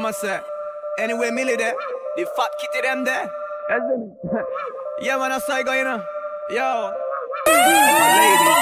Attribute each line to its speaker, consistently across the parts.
Speaker 1: mama say. Anyway, Millie there, the fat kitty them there. Yeah, man, that's how I go, you know. Yo, ladies.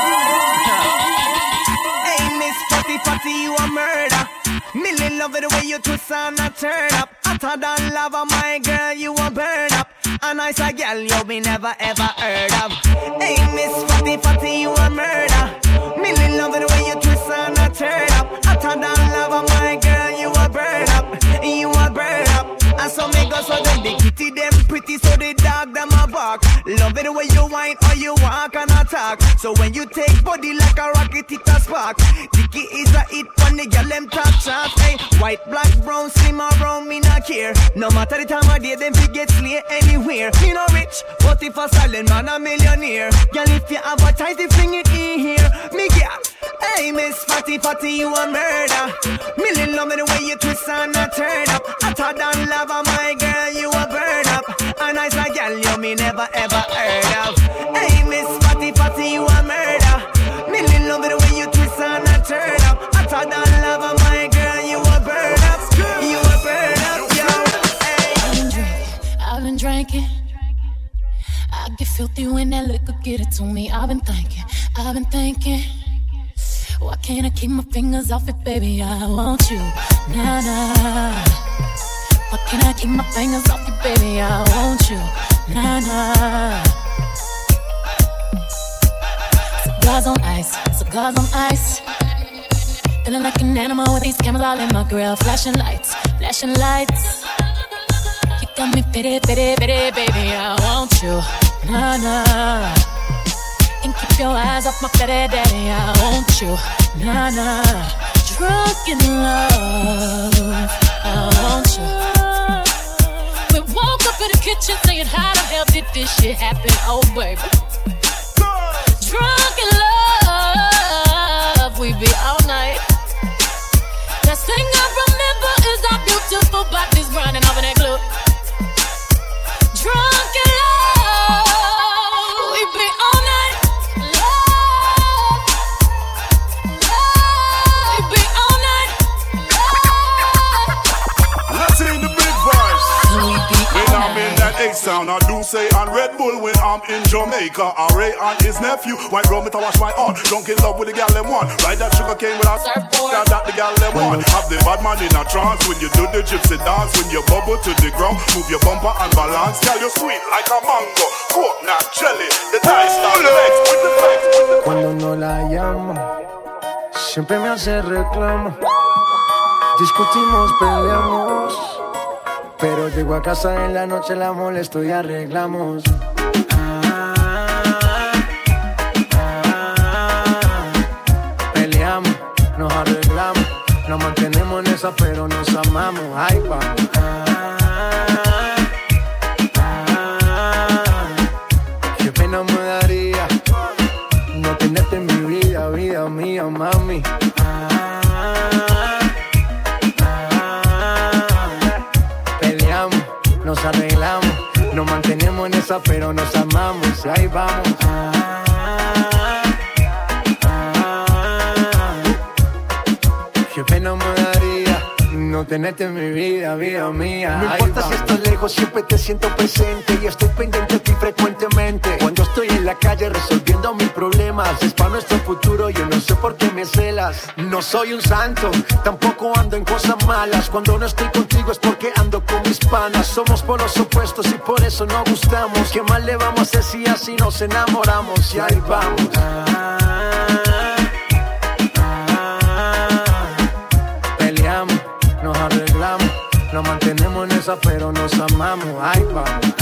Speaker 1: Hey, Miss Fatty Fatty, you a murder. Millie love it the way you twist and a turn up. Hotter than lava, my girl, you a burn up. A nice a girl you be never ever heard of. Hey, Miss Fatty Fatty, you a murder. Millie love it the way you twist and a turn up. Hotter than lava, my girl, you a burn up. You a burn up. And so make us so them the kitty them pretty, so the dog them a bark. Love it the way you whine or you walk and attack. So when you take body like a rocket, it a spark. Dicky is a hit when the girl them top shots. Hey, white, black, brown, slim or brown, me not care. No matter the time of day, them fi get slay anywhere. Me no rich, but if a silent man a millionaire. Girl, if you advertise the thing it in here, me get. Hey, Miss Fatty Fatty, you a murder. Millie love me the way you twist and a turn up. Hotter than lava, my girl, you a burn up. A nice a girl you me never ever heard of. Hey, Miss Fatty Fatty, you a murder. Millie love me the way you twist and a turn up. Hotter than lava, my girl, you a burn up. You a burn up, yo. Hey.
Speaker 2: I've been drinking. I get filthy when that liquor get it to me. I've been thinking. Why can't I keep my fingers off it, baby? I want you, nah, nah. Why can't I keep my fingers off you, baby? I want you, nah, nah. Cigars on ice. Feeling like an animal with these cameras all in my grill. Flashing lights. You got me pity, baby. I want you, nah, nah. And keep your eyes off my fetty daddy. I want you, nah, nah. Drunk in love, I want you. We woke up in the kitchen saying, how the hell did this shit happen? Oh, baby. Drunk in love, we be all night. Last thing I remember is our beautiful bodies grinding over that glue. Drunk in love, we be all night.
Speaker 3: Sound I do say on Red Bull when I'm in Jamaica. Ray and his nephew, white rum to wash my arm. Drunk in love with the gal them one. Ride that sugar cane with a surfboard. That the gal them one. Have the bad man in a trance when you do the gypsy dance. When you bubble to the ground, move your bumper and balance. Girl, you sweet like a mango, coconut jelly. The dice down the legs with the legs.
Speaker 4: Cuando no la llamo, siempre me hace reclamo. Discutimos, peleamos. Pero llego a casa en la noche, la molesto y arreglamos. Peleamos, nos arreglamos. Nos mantenemos en esa, pero nos amamos. Ahí vamos. Qué pena me daría no tenerte en mi vida, vida mía, mami. Nos arreglamos, nos mantenemos en esa, pero nos amamos. Y ahí vamos. Qué pena me daría no tenerte en mi vida, vida mía. No importa si estás lejos, siempre te siento presente. Y estoy pendiente de ti frecuentemente. Cuando estoy en la calle resolviendo mis problemas, es para nuestro futuro, yo no sé por qué me celas. No soy un santo, tampoco ando en cosas malas. Cuando no estoy contigo es porque ando con mis panas. Somos polos opuestos y por eso nos gustamos. ¿Qué más le vamos a hacer si así nos enamoramos? Y ahí vamos. Peleamos, nos arreglamos. Nos mantenemos en esa, pero nos amamos. Ahí vamos.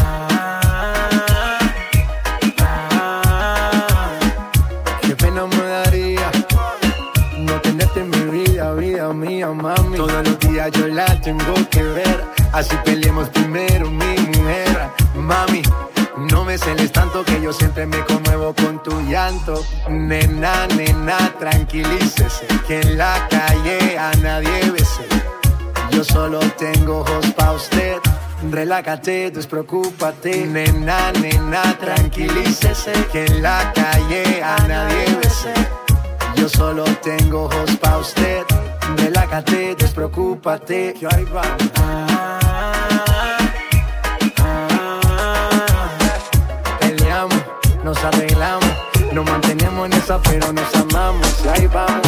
Speaker 4: Qué pena me daría no tenerte en mi vida, vida mía, mami. Todos los días yo la tengo que ver. Así peleemos primero, mi mujer. Mami, no me celes tanto que yo siempre me conmuevo con tu llanto. Nena, nena, tranquilícese, que en la calle a nadie bese. Yo solo tengo ojos pa' usted. Relájate, despreocúpate. Nena, nena, tranquilícese, que en la calle a nadie bese. Yo solo tengo ojos pa' usted. relájate, despreocúpate, que ahí va. Peleamos, nos arreglamos, nos mantenemos en esa pero nos amamos, y ahí vamos.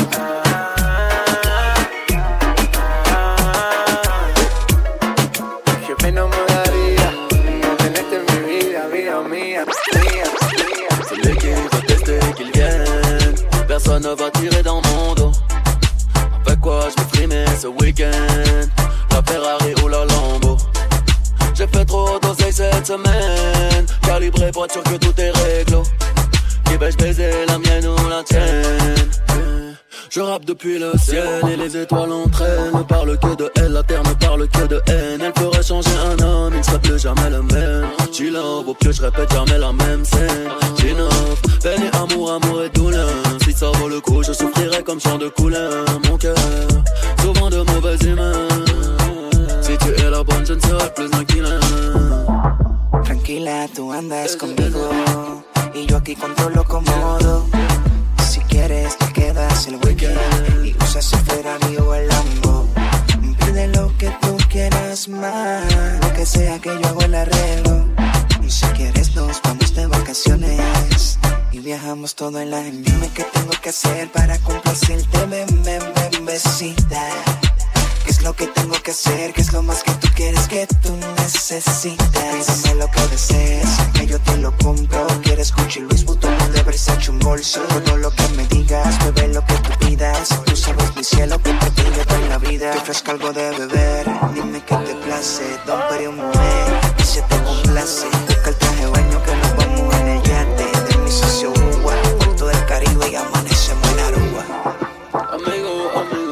Speaker 4: Jefe no me daría no tenerte en mi vida, vida mía, mía, mía.
Speaker 5: Celui qui veut tester qu'il vienne, personne ne va tirer dans mon dos. Avec quoi je me frimais ce week-end, la Ferrari ou la Lambo. J'ai fait trop d'oseille cette semaine, calibré pour être sûr que tout est réglo. Qui vais-je baiser, la mienne ou la tienne? Je rappe depuis le ciel et les étoiles entraînent. Ne parle que de elle, la terre ne parle que de haine. Elle ferait changer un homme, il ne serait plus jamais le même. She love, au plus je répète jamais la même scène. J'innove, peine et amour, amour et douleur. Si ça vaut le coup, je souffrirai comme chant de couleur. Mon cœur, souvent de mauvaise humeur. Si tu es la bonne, je ne serai plus tranquila.
Speaker 6: Tranquila, tú andas conmigo y yo aquí controlo cómodo. Si quieres te quedas el weekend y usas el Ferrari o el Lambo. Pide lo que tú quieras más, lo que sea que yo hago el arreglo. Y si quieres nos vamos de vacaciones y viajamos todo el año. Dime qué tengo que hacer para complacerte, bebecita. ¿Qué es lo que tengo que hacer? ¿Qué es lo más que tú quieres que tú necesitas? Pídeme lo que desees, que yo te lo compro. ¿Quieres Gucci, Louis Vuitton o de Versace un bolso? Todo lo que me digas, bebé, lo que tú pidas. Tú sabes mi cielo, que por ti le doy la vida. Te ofrezco algo de beber, dime qué te place. Don Perry o mujer, y se te complace. Busca el traje de baño que nos vamos en el yate de mi socio Uruguay, Puerto del Caribe y amanecemos en Aruba.
Speaker 5: Amigo,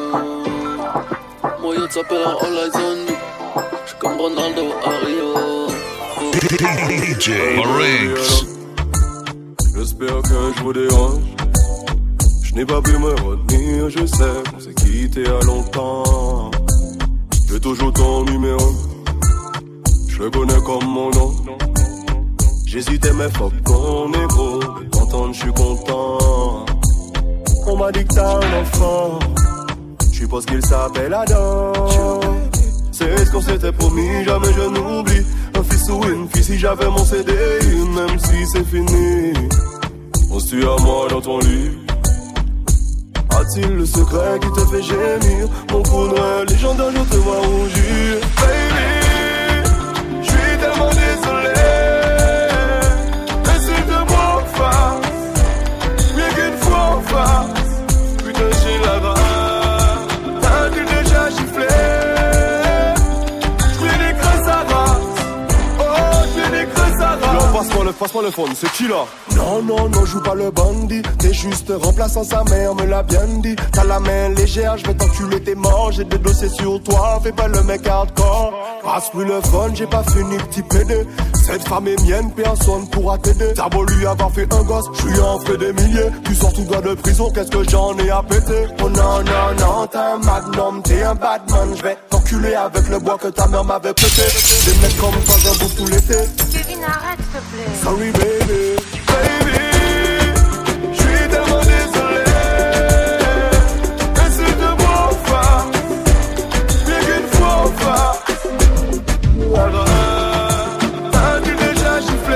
Speaker 5: moi yo t'appelle en all eyes on you. J'suis comme Ronaldo à Rio.
Speaker 7: DJ Riggs.
Speaker 8: J'espère que je vous dérange. Je n'ai pas pu me retenir, je sais qu'on s'est quitté à longtemps. J'ai toujours ton numéro, je le connais comme mon nom. J'hésitais mais fuck ton égo, de t'entendre je suis content. On m'a dit que t'as un enfant, je suppose qu'il s'appelle Adam. C'est ce qu'on s'était promis, jamais je n'oublie. Un fils ou une fille si j'avais mon CDI, même si c'est fini. On se tue à moi dans ton lit. A-t-il le secret qui te fait gémir? Mon coup de rein légendaire, je te vois rougir. Baby, je suis tellement désolé. Mais s'il te voit en face, mieux qu'une fois en face. Putain, j'ai la rage. T'as-tu déjà giflé? J'm'ai des creux à race. Oh, j'm'ai des creux à race. Passe-moi le phone, c'est qui là? Non, joue pas le bandit. T'es juste remplaçant, sa mère me l'a bien dit. T'as la main légère, je vais t'enculer, t'es mort. J'ai des dossiers sur toi, fais pas le mec hardcore. Passe-moi le phone, j'ai pas fini petit PD. Cette femme est mienne, personne pourra t'aider. T'as beau lui avoir fait un gosse, je lui en fais des milliers. Tu sors tout droit de prison, qu'est-ce que j'en ai à péter? Oh non, t'es un magnum, t'es un badman. Je vais t'enculer avec le bois que ta mère m'avait prêté. Des mecs comme toi, j'en bouffe tout l'été.
Speaker 9: Kevin, arrête s'il te plaît.
Speaker 8: Sorry baby, je suis tellement désolé. Mais si te vois en face, mieux qu'une fois en face. Alors, t'as-tu déjà giflé?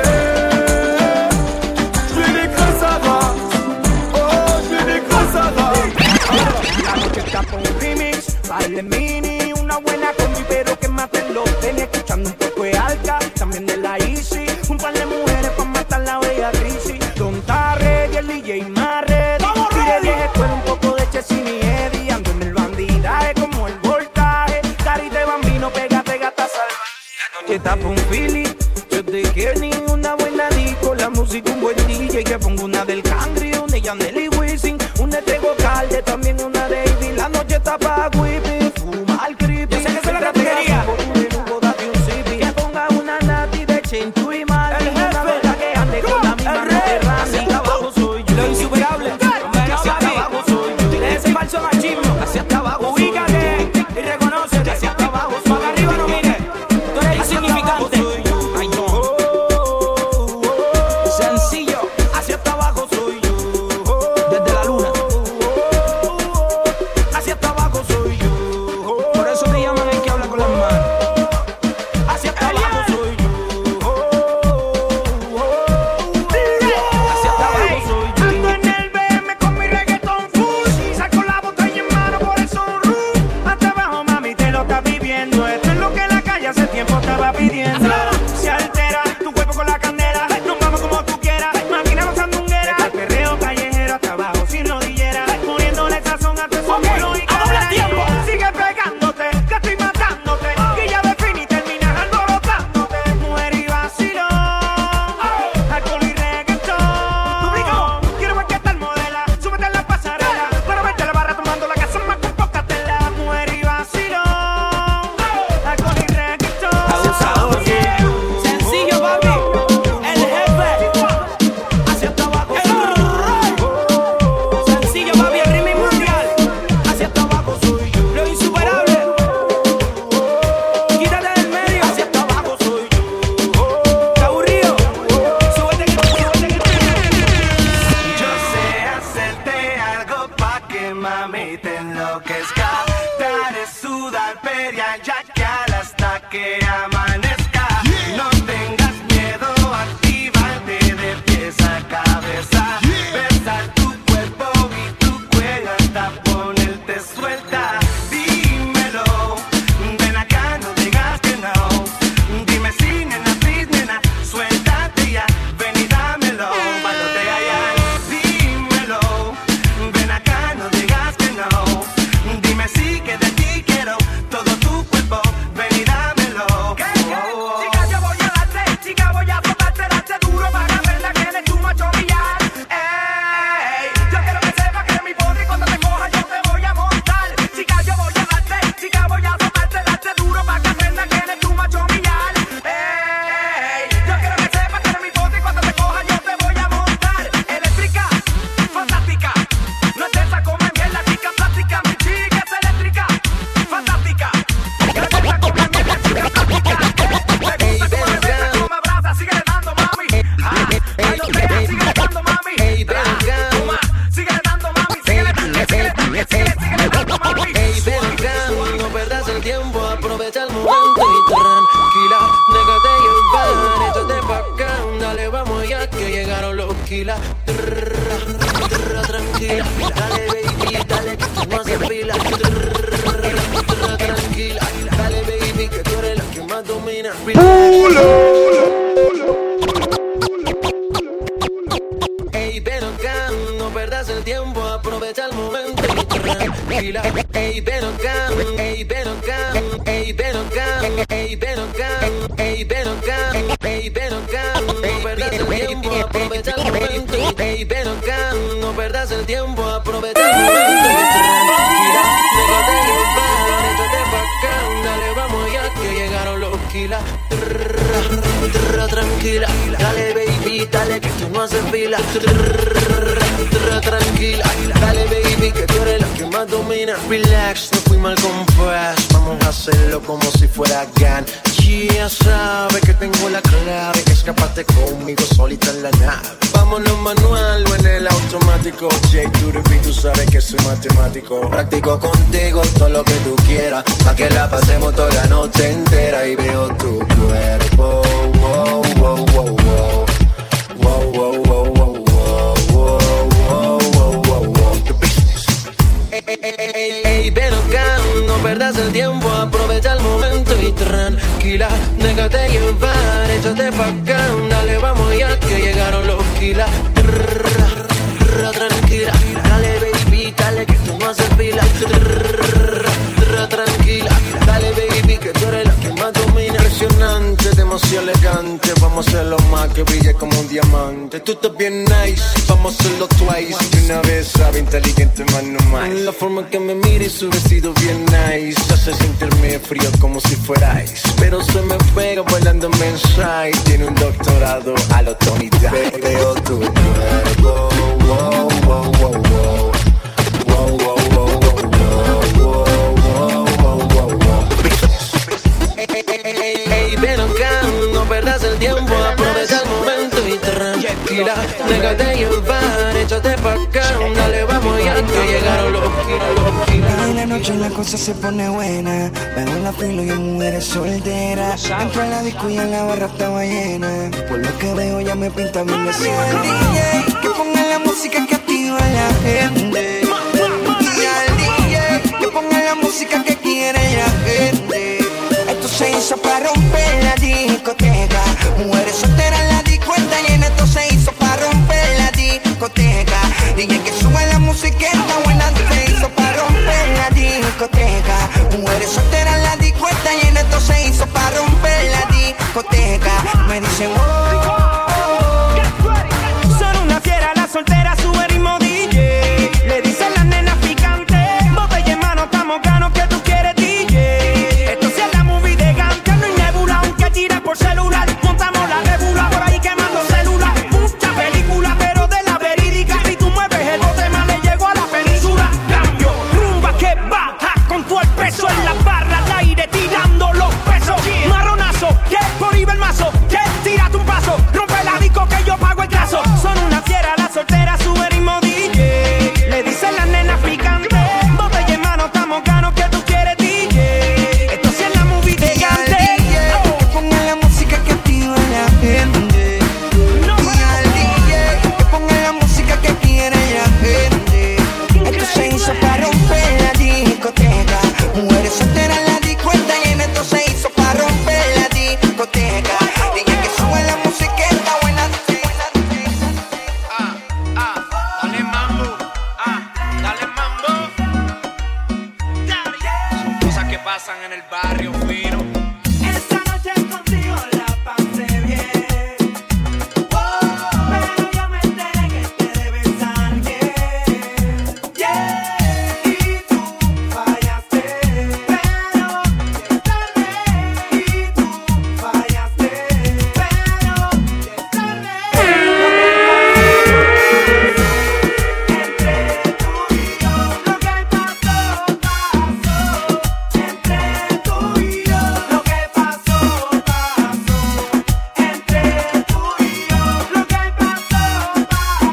Speaker 8: J'm'ai des creux à race. Oh, j'm'ai des creux à race.
Speaker 1: La noche está con un remix, baile mini, una buena combi pero que maten los tenis, escuchando un poco de Alca, también de la Easy, un par de mujeres pa' matar la bella crisis. Don Tarre y el DJ Marre, tire 10 escuela, un poco de Chesini y Eddie, ando en el bandidaje como el voltaje, carita de bambino, pégate gata salvaje. La noche está pa' un Philly, yo te quiero ni una buena disco, la música un buen DJ, que pongo una del Cangri, una de Yandel y Wisin, una de Tego Calde, también una de Ivy. La noche está pa' whipping, fuma al creepy. Yo sé que se la categoría. Que ponga una nati de Chenchu y Mali, una bella que ande con la misma terraza. Hacia abajo soy yo, lo insuperable. Hacia abajo soy yo, tienes ese falso machismo. Hacia abajo, ubícate y reconócete. Hacia abajo, para arriba no mires, tú eres insignificante. Ay no, sencillo. Hacia abajo soy yo, desde la luna. Hacia abajo soy
Speaker 10: estaba pidiendo. Se altera tu cuerpo con la candela. Nos vamos como tú quieras. Maquinamos sandunguera. El perreo callejero hasta abajo sin rodillera. Poniéndole sazón a tu sombrero y cadera. Sigue pegándote, que estoy matándote. Que ya define y terminas alborotándote. Mujer y vacilón, alcohol y reggaetón. Quiero ver qué tal modela. Súbete en la pasarela. Para verte la barra tomando la casa más con poca tela. Mujer y vacilón, alcohol y reggaetón.
Speaker 1: Abusador,
Speaker 10: Sencillo, papi. El jefe. Hacia hasta abajo. Sencillo, papi. El ritmo mundial. Hacia hasta abajo soy yo. Lo insuperable. Quítate del medio. Hacia hasta abajo soy yo. ¿Te aburrido? Súbete que
Speaker 1: yo sé hacerte algo pa' que mami te enloquezca. Daré sudar peria ya que hasta que amanezca. No tengas miedo, actívate de pies a cabeza. Besar tu cuerpo y tu cuello hasta ponerte suelta. Dímelo, ven acá, no digas que no. Dime si nena, please nena, suéltate ya. Ven y dámelo, cuando te hallan. Dímelo, ven acá, no digas que no. Dime si que de ti quiero todo tu cuerpo. Ven y dámelo. Chica, yo voy a darte, chica, voy a frotarte, darte duro para verla que eres tu macho millar. Ey, yo quiero que sepas que eres mi poder y cuando te coja yo te voy a montar. Chica, yo voy a darte, chica, voy a frotarte, darte duro para verla que eres tu macho millar. Ey, yo quiero que sepas que eres mi poder y cuando te coja yo te voy a montar. Eléctrica, fantástica, no es esa como en mierda, chica plástica, mi chica es eléctrica, fantástica. No es esa como en mierda, chica plástica. Me gusta como me besa, como me abraza, síguele dando mami. Bailotea, síguele dando mami. Toma, síguele dando mami, síguele dando mami.
Speaker 11: No perdas el tiempo, aprovecha el momento y tranquila, déjate llevar, échate pa' acá, dale vamos ya que llegaron los kilas. Tranquila, dale baby, dale que tú no haces fila. Tranquila, dale baby que tú eres la que más domina. Ey, ven acá, no perdas el tiempo, aprovecha el momento y tranquila. Ey, ven acá, ey, ven acá, ey, ven acá, ey, ven acá, ey, ven acá, ey, ven acá, no perdas el tiempo, aprovecha el momento. Ey, ven acá, no perdas el tiempo, aprovecha el momento y tranquila. Déjate llevar, échate pa' acá, dale vamos ya que llegaron los kilas. Tranquila, dale baby, dale que tú no haces fila. Tranquila, dale baby que tú eres la que más domina. Relax, no fui mal compás, vamos a hacerlo como si fuera GAN. Ya sabes que tengo la clave, escapate conmigo solita en la nave. Vámonos manual o en el automático. J to the beat, tú sabes que soy matemático. Practico contigo todo lo que tú quieras, pa' que la pasemos toda la noche entera. Y veo tu cuerpo, wow, wow, wow, wow. Wow, wow, wow, wow, wow, wow, wow, wow, wow. The business. Ey, ven acá, no perdas el tiempo, aprovecha el momento y tranquila, déjate llevar, échate pa' acá, dale vamos ya que llegaron los kilas. Tranquila, dale baby, dale que tú no haces fila. Tranquila, dale baby que tú eres la que más domina. Impresionante, demasiado elegante, vamos a hacerlo más que brille como un diamante. Tú estás bien nice, vamos a hacerlo twice. De una vez sabe inteligente más no más. La forma que me mira y su vestido bien nice hace sentirme frío como si fuera ice. Pero se me pega bailando mensaje. Tiene un doctorado a lo Tony Dice. Veo tu cuerpo, wow, wow, wow, wow. Wow, wow, wow, wow, wow, wow, wow, wow, wow. Ey, ven acá, no perdas el tiempo, aprovecha el momento y tranquila, déjate llevar, échate pa' acá, dale vamos ya que llegaron los kilos.
Speaker 6: En la noche la cosa se pone buena, veo la filo y mujeres solteras. Entro a la disco y en la barra estaba llena, por lo que veo ya me pinta bien de cena. DJ, que ponga la música que activa a la gente. Y al DJ, que ponga la música que quiere la gente. Esto se hizo para romper la discoteca. Mujeres solteras en la discoteca y en esto se hizo para romper la discoteca. DJ que sube la música está buena, se hizo para romper la discoteca. Mujeres solteras en la discoteca y en esto se hizo para romper la discoteca. Me dicen
Speaker 10: son una fiera, la soltera sube ritmo DJ. Le dicen las nenas picantes, botella en mano, estamos ganos que tú quieres DJ. Esto sí es la movie de Gante, no hay nebula, aunque tire por celular. Montamos la nebula por ahí quemando celular. Mucha película, pero de la verídica. Si tú mueves el bote más le llego a la península. Cambio, rumba que baja con todo el peso en la barra al aire tirando los pesos. Marronazo, que por ahí va el mazo, que tírate un paso, rompe la disco que yo pago el caso. Son una fiera, la soltera sube ritmo DJ. Le dicen las nenas picantes, botella en mano, estamos ganos que tú quieres DJ. Esto sí es la movie de Gante.
Speaker 6: que ponga la música que activa la gente. Y al DJ que ponga la música que quiere la gente. Esto se hizo para romper la discoteca. Mujeres solteras en la discoteca y en esto se hizo para romper la discoteca. DJ que sube la música está buena.
Speaker 11: Dale mambo, dale mambo. Son cosas que pasan en el barrio fino.
Speaker 10: Esta noche contigo la pasé bien. Pero yo me enteré que te debes a alguien. Y tú fallaste. Pero ya es tarde. Y tú fallaste. Pero ya es tarde. Entre tú y yo, lo que pasó, pasó. Entre tú y yo, lo que pasó, pasó. Entre tú y yo, lo que pasó,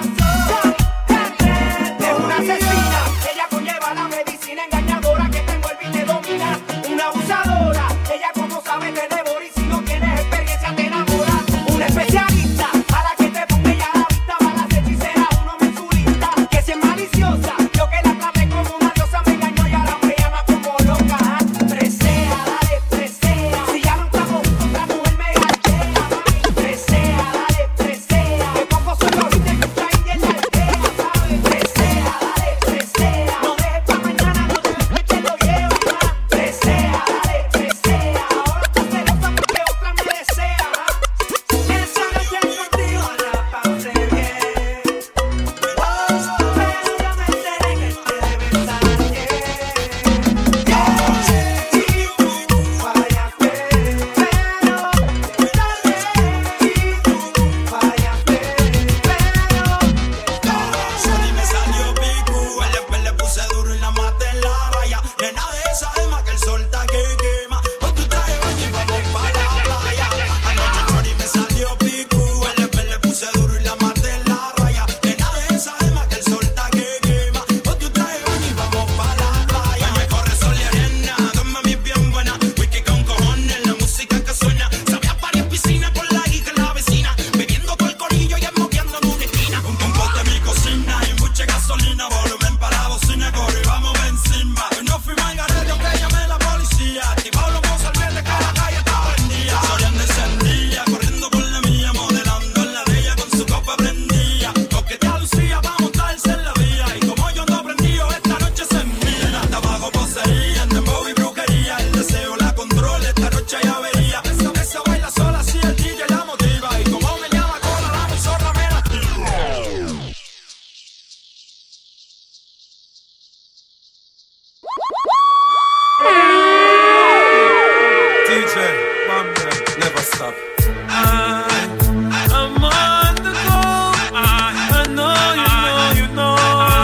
Speaker 10: pasó. Es una asesina, ella conlleva la medicina engañadora que te envuelve y te domina. Una abusadora, ella como sabe te devora y si no tienes experiencia te enamora. Una especialista, a la que te ponga ella a la vista, va las hechiceras, uno mensurista. Que si es maliciosa, yo que la traté como una diosa me engañó y ahora me llama como loca. Presea, dale, presea. Si ya no estamos juntos, otra mujer me gachea. Presea, dale, presea. Que poco solo y te escucha y en la aldea, ¿sabes? Presea, dale, presea. No dejes pa' mañana, no te dejes que lo lleva. Presea, dale, presea. Ahora estás celosa porque otra me desea. Esa noche contigo la pasé bien. Pero yo me enteré que te debes a alguien. Y tú fallaste. Pero ya es tarde. Y tú fallaste.
Speaker 12: Sony me salió picu, el después le puse duro y la maté en la raya. Nena de esa alma que el sol está que quema. Con tu traje baño y vamos pa' la playa. Anoche Sony me salió picu, el después le puse duro y la maté en la raya. Nena de esa alma que el sol está que quema. Con tu traje baño y vamos pa' la playa. Me corre sol y arena, dos mami bien buena. Whisky con cojones, la música que suena. Sabe a varias piscinas con la guita en la vecina. Bebiendo con el corillo y moviendo en una esquina. Un pote en mi cocina y mucha gasolina. Volumen para la bocina, corre y vamos encima. No fui mal garete, aunque llamé la policía. Activado los mozos al verde, que la calle estaba prendida. Soriano encendía, corriendo por la mía. Modelando en la de ella con su copa prendía. Coquetea Lucía pa' montarse en la vía. Y como yo no prendido, esta noche se envía. Hasta abajo poseía, en dembow y brujería. El deseo la controla, esta noche hay avería. Esa baila sola, si el DJ la motiva. Y como me llama cola, la emisora me la tira.
Speaker 8: DJ, Bambi, never stop. I'm on the go. I know, you know.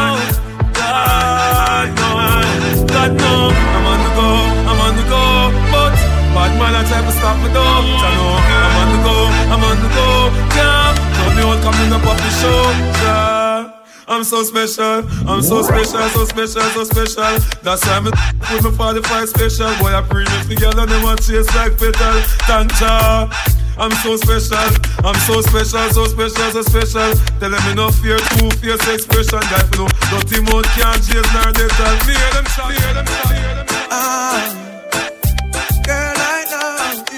Speaker 8: God know, I'm on the go. But bad man I try to stop me though. I know, I'm on the go. Yeah, told me all coming up off the show. Yeah. I'm so special, so special. That's why I'm with my 45 special. Boy, I premium together, them want chase like petal. Tanja, I'm so special, so special. Tell them enough fear, too fierce expression. Guy for no dirty mouth can't chase nor they tell. Hear them shout.
Speaker 6: Girl, I know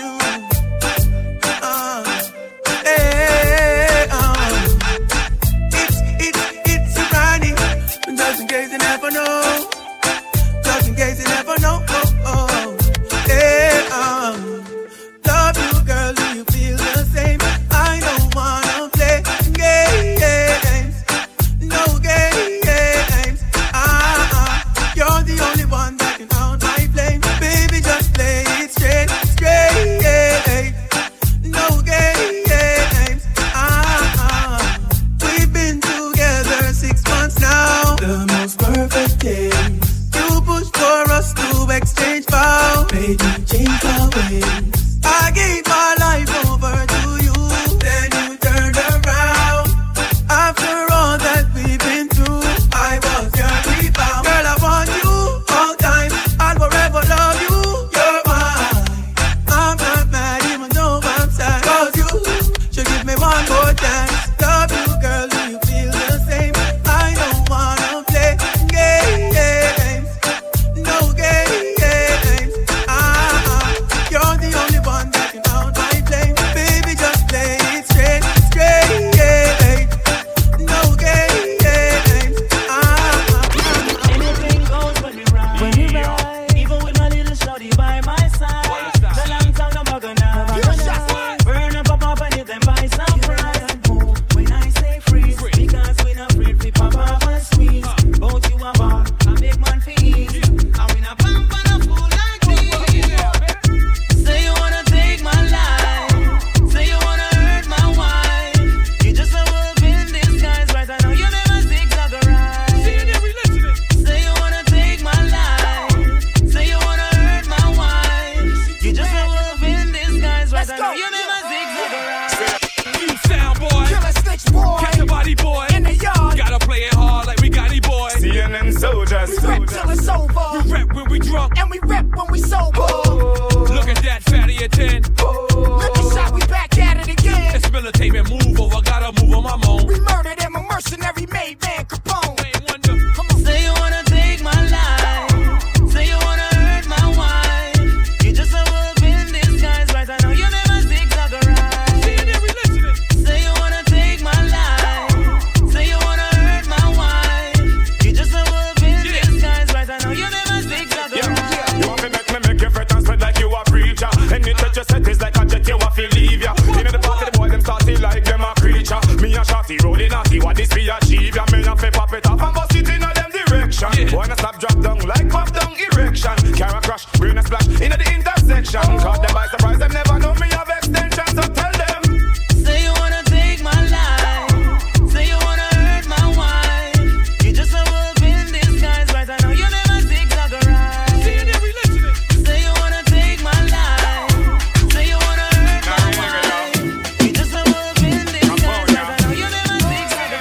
Speaker 2: know you never zigzag around.
Speaker 13: New sound boy,
Speaker 10: Killer Snitch boy,
Speaker 13: catch the body boy.
Speaker 10: in the yard.
Speaker 13: Gotta play it hard like we got it, boy.
Speaker 14: CNN soldiers.
Speaker 10: We rap till it's over.
Speaker 13: We rap when we drunk,
Speaker 10: And we rap when we sober.
Speaker 13: look at that fatty at 10.
Speaker 10: Look at shot, we back at it again.
Speaker 13: It's militating move over, gotta move on my moan.
Speaker 10: We murdered him, a mercenary made man Capone.
Speaker 13: Ain't wonder.
Speaker 10: Come on.
Speaker 2: Say you wanna take my life. Say you wanna hurt my wife. You just a wolf in disguise, right? I know you never zigzag around.
Speaker 13: See you there, we listening.
Speaker 2: Say you wanna take my life. Say you wanna hurt my wife. You just a wolf in disguise, right? I know you never zigzag around.
Speaker 14: You want to make you fret and spread like you a preacher. And it touch your set is like a jet, you want to leave ya. In the party, the boy them starting like them a creature. Me and Shotty rolling naughty, what this be achieve? Ya me a fi pop it off and bust it in a them direction. Wanna stop, drop down like pop down erection. Carry crash, brain a splash in the intersection. Caught them by surprise, them never know me have extension. So tell them.
Speaker 2: Say you wanna take my life. Say you wanna hurt my wife. You just a wolf in disguise, right? I know you never zigzag around.
Speaker 13: See you there, we listening.
Speaker 2: Say you wanna take my life. Say you wanna hurt my wife. You just a wolf in disguise, right? I know you never zigzag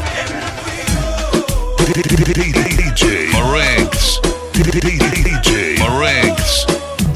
Speaker 2: around.
Speaker 7: DJ Marinx. DJ Marinx.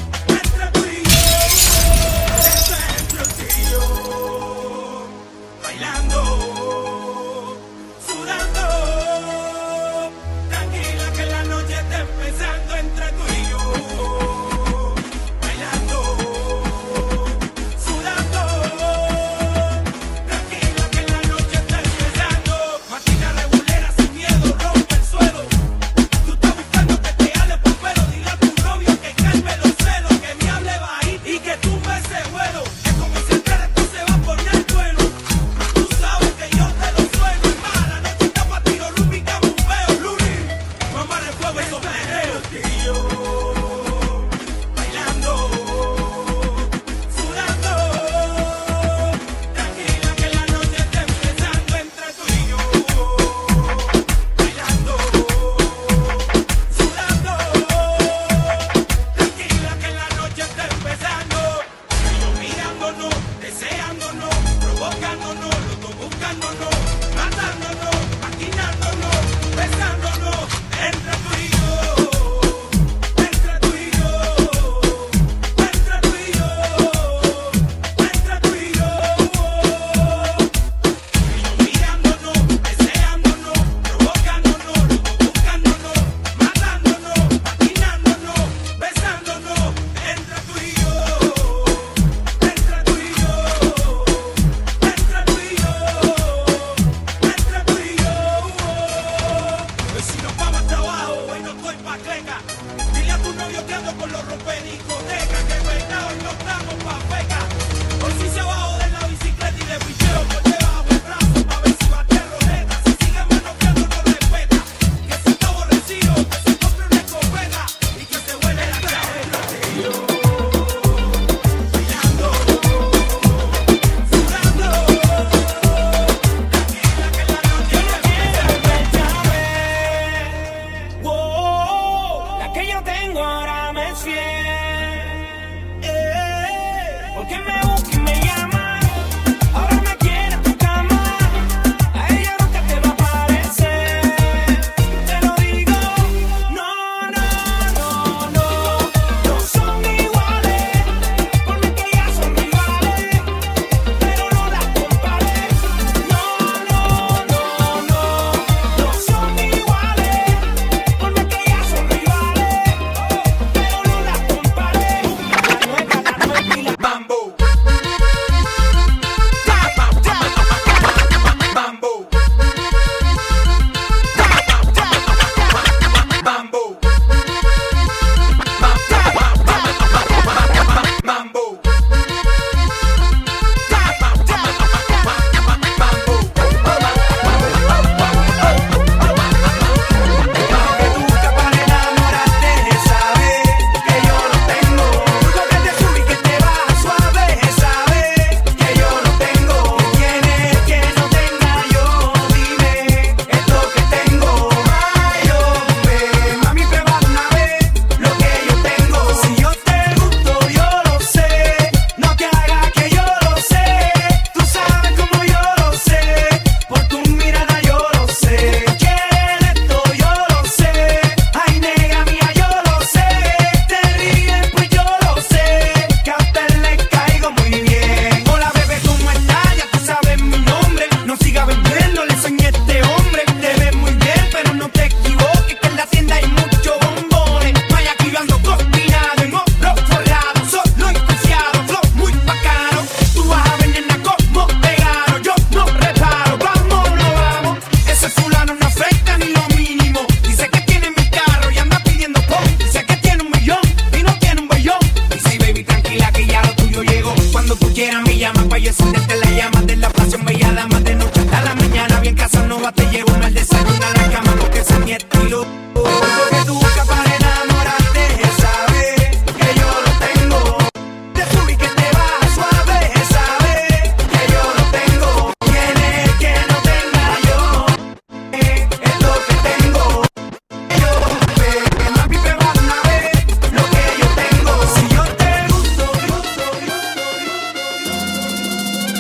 Speaker 12: Bailando, sudando, tranquila que la noche está empezando entre tú y yo. Bailando, sudando, tranquila que la noche está empezando. Máquina regulera sin miedo, rompe el suelo. Tú estás buscando que te hable por pelo. Dile a tu novio que calme los celos, que me hable bajito y que tumbe ese vuelo. Es como si el esto se va a poner bueno. Tú sabes que yo te lo sueno. Es más, la noche está pa' tiro, Ruby, que bombeo, Luli. Mamá de fuego, eso perreo. Y yo, bailando, sudando. Tranquila que la noche está empezando entre tú y yo. Bailando, sudando. Tranquila que la noche está empezando. Ellos mirándonos, deseándonos, provocándonos, los dos buscándonos, matándonos, maquinándonos, besándonos, entre tú y yo, entre tú y yo, entre tú y yo, entre tú y yo. Ellos mirándonos, deseándonos, provocándonos, los dos buscándonos, matándonos, maquinándonos, besándonos, entre tú y yo, entre tú y yo.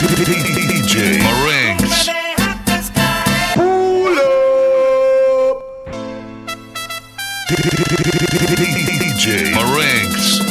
Speaker 7: DJ Marinx.
Speaker 3: Pull up.
Speaker 7: DJ Marinx.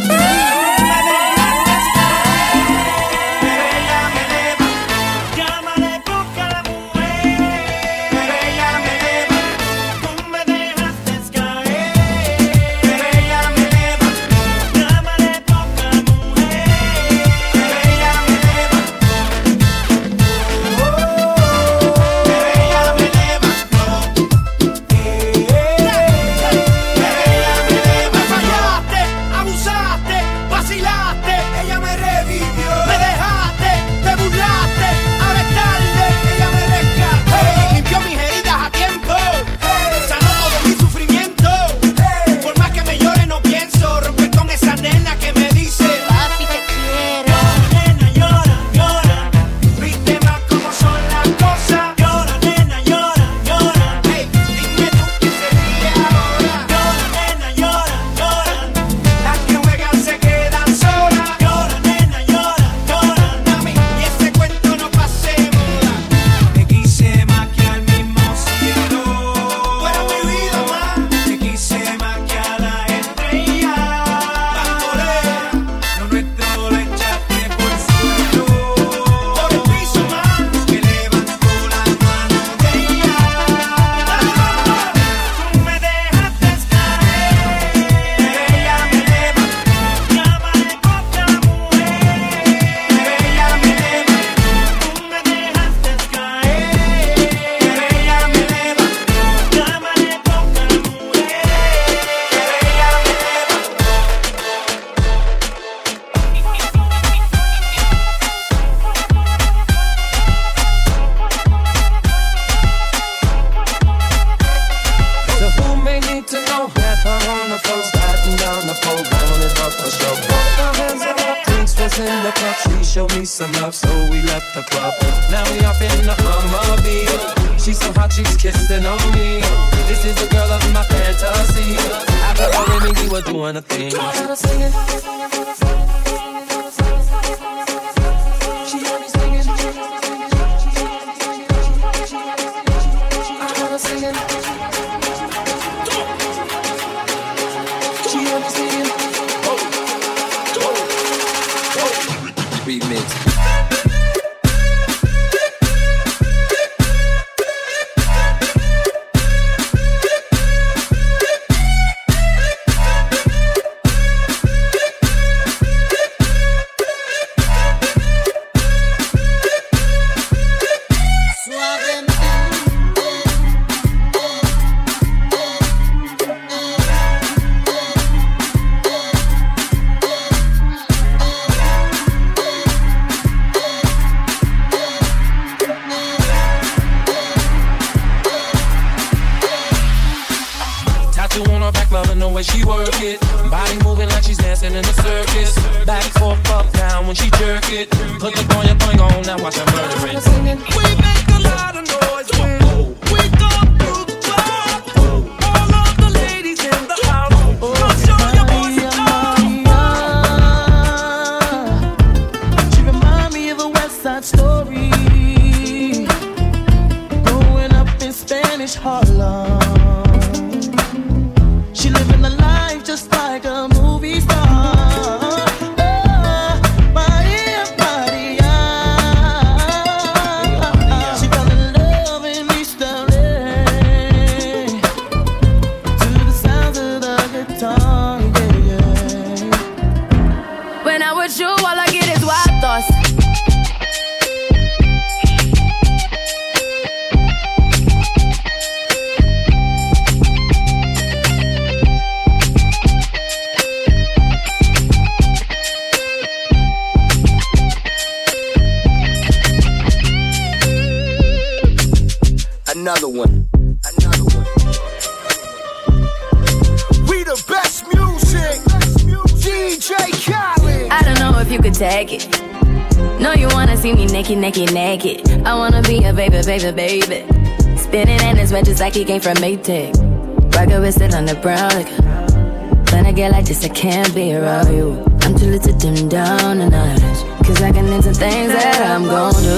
Speaker 11: Some love, so we left the club. Now we off in the Humvee. She's so hot, she's kissing on me. This is the girl of my fantasy. After all, Remy, we were doing a thing. She had me singing. I had her singing. She had me singing. Remix. She work it, body moving like she's dancing in the circus. Back, forth, up, down when she jerk it. Put the going on, now watch her murder it. We make a lot of noise when we go through the club. All of the ladies in the house, I'll show you boys love.
Speaker 15: She remind me of a West Side Story, growing up in Spanish Harlem. She living the life just like a movie star. Maria, Maria. She fell in love in East LA to the sounds of the guitar, yeah, yeah.
Speaker 2: When I'm with you, all I get is wild thoughts.
Speaker 16: Another one. We the best music. DJ Khaled.
Speaker 2: I don't know if you could take it. No, you wanna see me naked, naked, naked. I wanna be a baby, baby, baby. Spinning in his red just like he came from Maytag. Rocket with it on the brown. Like, when I get like this, I can't be around you. I'm too little to dim down the night. Cause I can into things that I'm gon' do.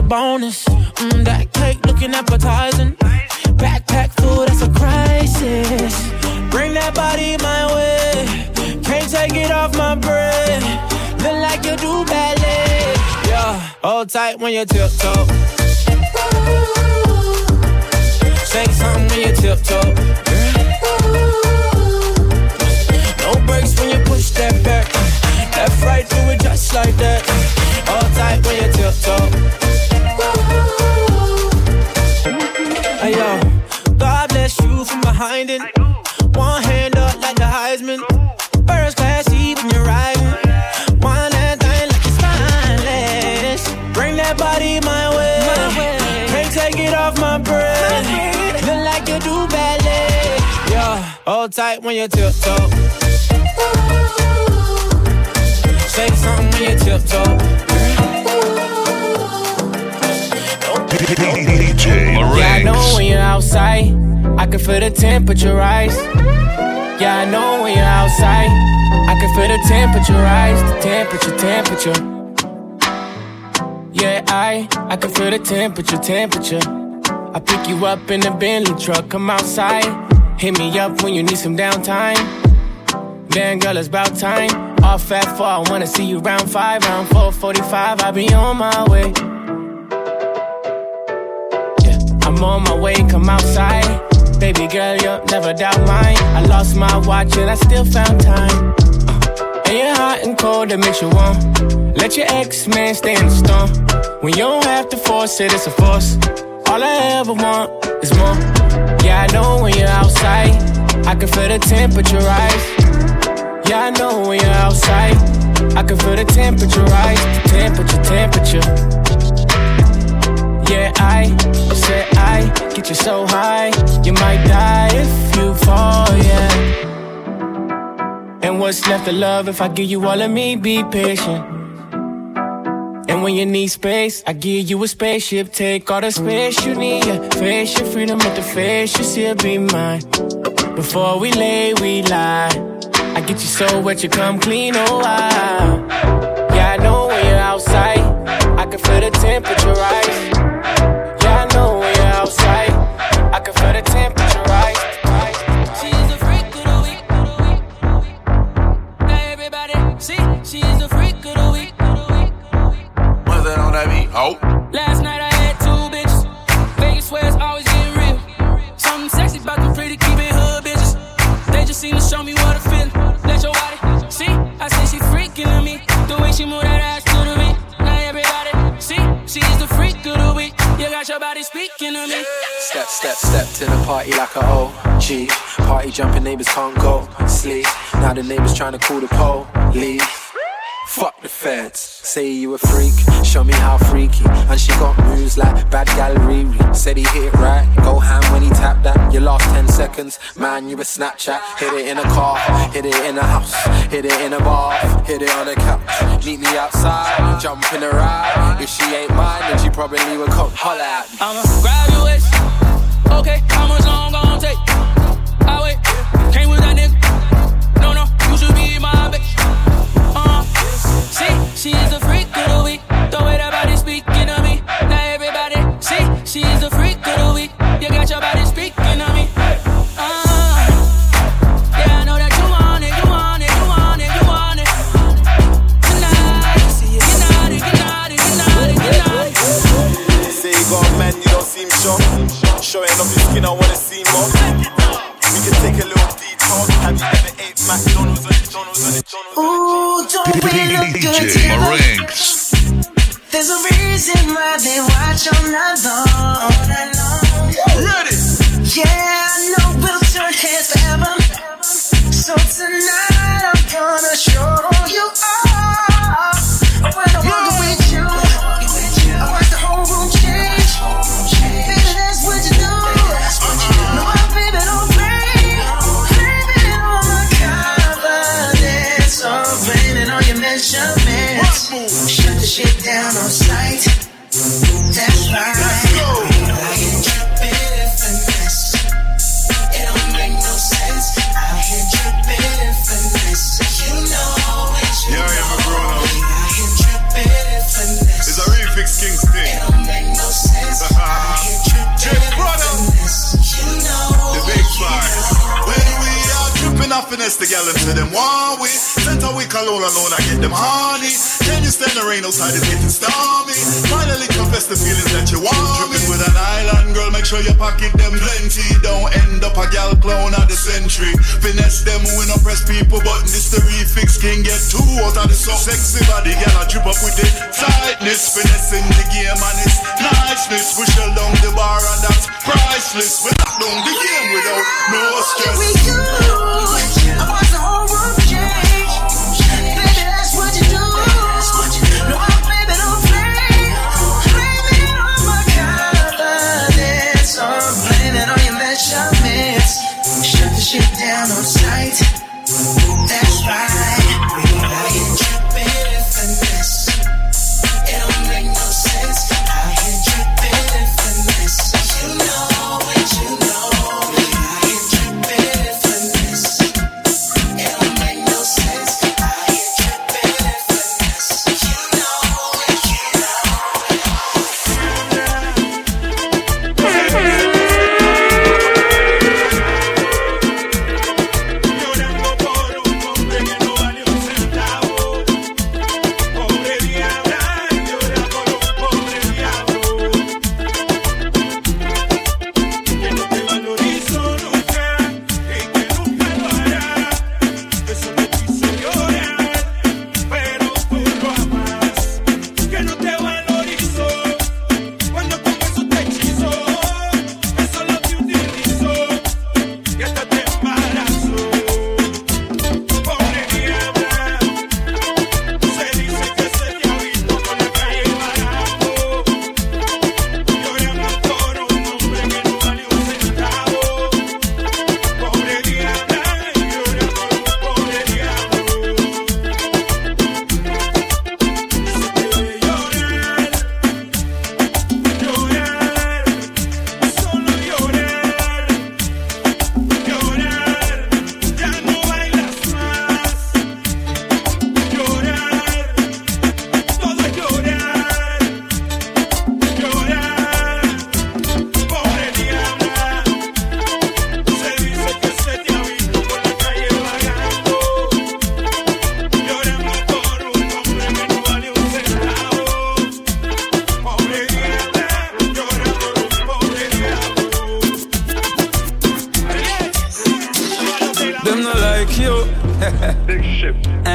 Speaker 17: bonus. That cake looking appetizing. Backpack full, that's a crisis. Bring that body my way. Can't take it off my breath. Look like you do ballet. Yeah, hold tight when you tiptoe. Say something when you tiptoe. No brakes when you push that back. Left, right, do it just like that. Hold tight when you tiptoe. Hey yo, God bless you from behind it. One hand up like the Heisman. First class seat when you're riding. One that thing like it's spineless. Bring that body my way. Can't take it off my breath. Look like you do ballet. Yeah, hold tight when you tiptoe. Say something when you tiptoe. Yeah, I know when you're outside, I can feel the temperature rise. Yeah, I know when you're outside, I can feel the temperature rise. The temperature. Yeah, I can feel the temperature. I pick you up in the Bentley truck, come outside. Hit me up when you need some downtime. Damn girl, it's about time. Off at 4, I wanna see you round 5. Round 4:45, I'll be on my way. I'm on my way, come outside. Baby girl, you'll never doubt mine. I lost my watch and I still found time. And you're hot and cold, that makes you warm. Let your ex-man stay in the storm. When you don't have to force it, it's a force. All I ever want is more. Yeah, I know when you're outside, I can feel the temperature rise. Yeah, I know when you're outside, I can feel the temperature rise. The temperature. Yeah, I said I get you so high, you might die if you fall, yeah. And what's left of love if I give you all of me, be patient. And when you need space, I give you a spaceship. Take all the space you need, yeah. Face your freedom at the face, you still be mine. Before we lay, we lie. I get you so wet, you come clean, oh wow. Yeah, I know when you're outside, I can feel the temperature rise. Yeah, I know when you're outside, I can feel the temperature rise.
Speaker 18: She's a freak of the week. Now everybody see, she's a freak of the week.
Speaker 19: What's that on that beat? Oh.
Speaker 18: Last night I had 2 bitches. Vegas where it's always getting real. Something sexy about them pretty keeping hood bitches. They just seem to show me what I feel. Let your body see, I say she freaking on me. The way she move that ass to the beat. Now everybody see, she's the freak of the week. You got your body speaking to me.
Speaker 11: Step to the party like a OG. Party jumping, neighbors can't go sleep. Now the neighbors trying to call the police. Fuck the feds. Say you a freak, show me how freaky. And she got moves like bad gal Riri. Said he hit it right, go ham when he tapped that. Your last 10 seconds, man, you a Snapchat. Hit it in a car, hit it in a house, hit it in a bar, hit it on a couch. Meet me outside, jump in a ride. If she ain't mine, then she probably would come holler at me.
Speaker 18: I'ma grab your waist. Okay, how much long gon' take? I wait, came with that nigga. No, you should be my bitch. See, she is a freak of the week. The way that body speaking to me. Now everybody, see, she is a freak of the week. You got your body speaking to me. Yeah, I know that you want it, you want it, you want it, you want it. Tonight, you got it.
Speaker 19: Say you got a man, you don't seem sure. Showing off your skin, I wanna see more. We can take a little detour. Have you ever ate McDonald's on it?
Speaker 15: Ooh, don't we look good
Speaker 7: DJ
Speaker 15: together?
Speaker 7: Marinks.
Speaker 15: There's a reason why they watch all night long.
Speaker 19: Ready?
Speaker 15: Yeah, I know we'll turn heads forever. So tonight I'm gonna show you all. When I walk with you, I watch the whole room change. Baby, that's what you do. No, baby, don't play. Baby, on the confidence. So raining on your measurements. Shut the shit down on sight. That's right. I can drip it in finesse. It don't make no sense. I can drip it in finesse. You know it's you.
Speaker 19: Yeah, I am a grown up.
Speaker 15: I can drip it in finesse.
Speaker 19: It's a real fix Kingston.
Speaker 15: It don't make
Speaker 3: finesse the gal into them one way. Center week alone, I get them honey. Can you stand the rain outside, it's getting stormy. Finally confess the feelings that you want me. Tripping with an island girl, make sure you pocket them plenty. Don't end up a gal clown of the century. Finesse them when I press people button. This the refix, can get two out of the so sexy body, gal I drip up with it. Tightness, finessing the game and it's niceness. We shell down the bar and that's priceless. We lock down the game without no stress.
Speaker 15: With you, I want the whole world to change. Baby, that's what you do. No, baby, don't play. Blame it on my confidence. Or blame it on your measurements. Shut the shit down on sight. That's right. I ain't tripping if I miss. It don't make no sense. I ain't tripping if I miss. You know what you know. I ain't tripping if I miss. It don't make no sense. I ain't tripping if I miss. You know what you
Speaker 20: Big ship.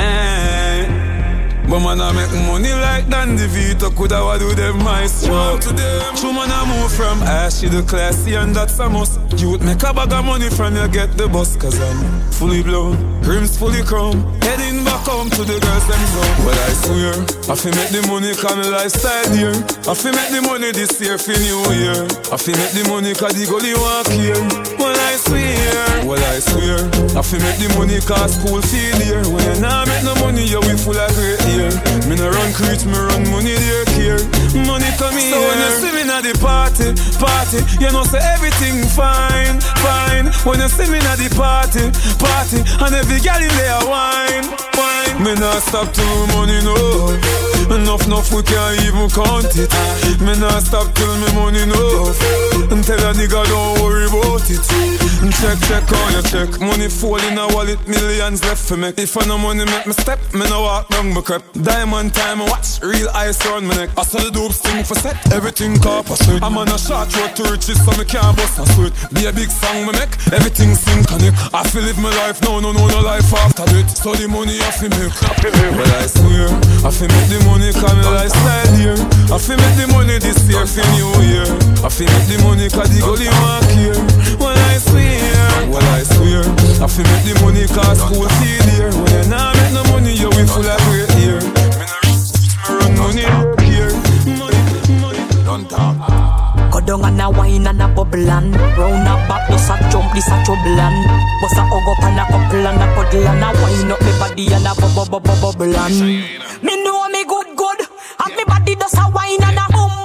Speaker 20: But man, I make money like Dan DeVito. Coulda wa do them my stroke. True man, I move from ashy to classy, and that's a must. Youth make a bag of money from you get the bus. Cause I'm fully blown, rims fully chrome. Heading back home to the girls them zone. Well, I swear, I fi make the money cause my lifestyle here. I fi make the money this year for New Year. I fi make the money cause the gully walk here. Well, I swear, I fi make the money cause school feel here. When you nah make no money, you we full of great year. Me no run creech, me run money there care. Money come here. So when you see me at the party, you know say everything fine. When you see me at the party, and every girl in there wine. Me nah stop till money no. Enough we can't even count it. Me nah stop till me money no. And tell a nigga don't worry about it. Check on your check. Money fall in a wallet, millions left for me. If I no money make me step, me no walk down my crep. Diamond time, I watch real ice on my neck. I saw the dope sting for set, everything copper sweet. I'm on a short road to riches, so me can't bust a sweat. Be a big song me make, everything sing connect. I feel live my life, no life after it. So the money I feel make. Well I swear, I feel make the money cause my lifestyle here. I feel make the money this year for New Year. I feel make the money cause the gully walk here. Well I swear, I feel make the money cause school feel here. When you nah make no money, you we full of great year. Me run money here. Money. Don't talk.
Speaker 21: Go down and a wine and a bubble and round a back, just a jump, this a trouble and bust a hug up and a couple and a cuddle and a wine up me body and a bubble and me know me good, and me body does a wine and a boom,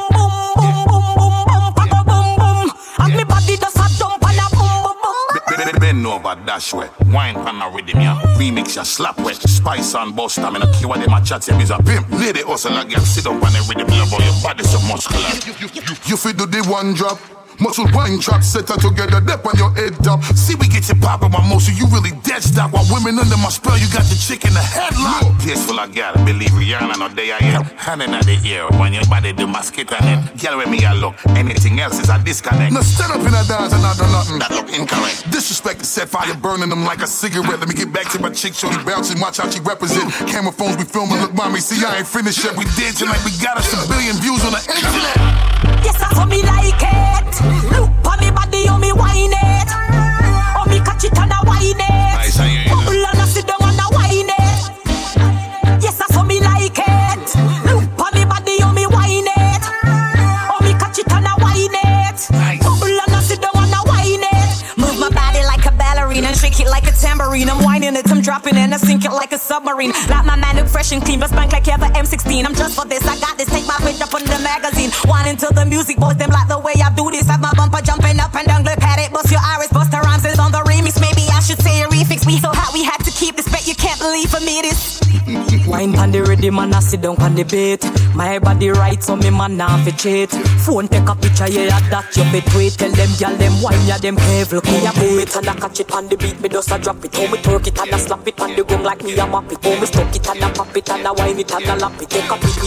Speaker 21: pack a boom, and me body does a jump and a boom.
Speaker 22: Bend over, dash wet, wine pan a rhythm ya, remix ya slap wet, spice and bust I mean a key what them a chat say is a pimp. Lady hustle a girl, sit up on the rhythm, love all your body so muscular.
Speaker 3: You fi do the one drop, Muscle wine trap set her together, dip on your head top.
Speaker 22: See, we get you poppin' my motion, you really dead stock. While women under my spell, you got the chick in the headlock. Peaceful, I got it, believe Rihanna, no day I am. Hand in the ear, when your body do my skit on it. Girl, with me, I look, anything else is a disconnect.
Speaker 3: Now stand up in a dance and I do nothing.
Speaker 22: That look incorrect.
Speaker 3: Disrespect is set fire, burning them like a cigarette. Let me get back to my chick, shorty bouncing, watch how she represent. Camera phones be filming, look mommy, see I ain't finished yet. We dancing like we got us a billion views on the internet.
Speaker 21: Yes, I saw me like it. Look on me body, oh me wine it. Oh me catch it and I wine it. Bubble and I sit down and I wine it. Yes, I saw me like it. Look on me body, oh me wine it. Oh me catch it and I wine it. Bubble and I sit down and I wine it. Move my body like a ballerina, shake it like a tambourine. I'm whining it, I'm dropping it, and I sink it like a submarine. Like my man look fresh and clean, but spank like Ever M16. I'm just for this, I got this. Take my picture from the magazine. Whining to the music, boys them like the way I do this. Have my bumper jumping up and down, look at it. Bust your iris, bust the rhymes is on the remix. Maybe I should say a refix. We so hot, we had to keep this bet. You can't believe for me this. Wine pan the ready, man, I sit down pan the bait. My body right, so me man now fi cheat. Phone take a picture, yeah, that you bet wait. Tell them, y'all them wine, yeah, them careful. Me a boom it and I catch it on the beat. Me just a drop it, oh me twerk it and I slap it on the gong like me a map it. Oh me stuck it and I pop it and I wine it and I lap it. Take a beat.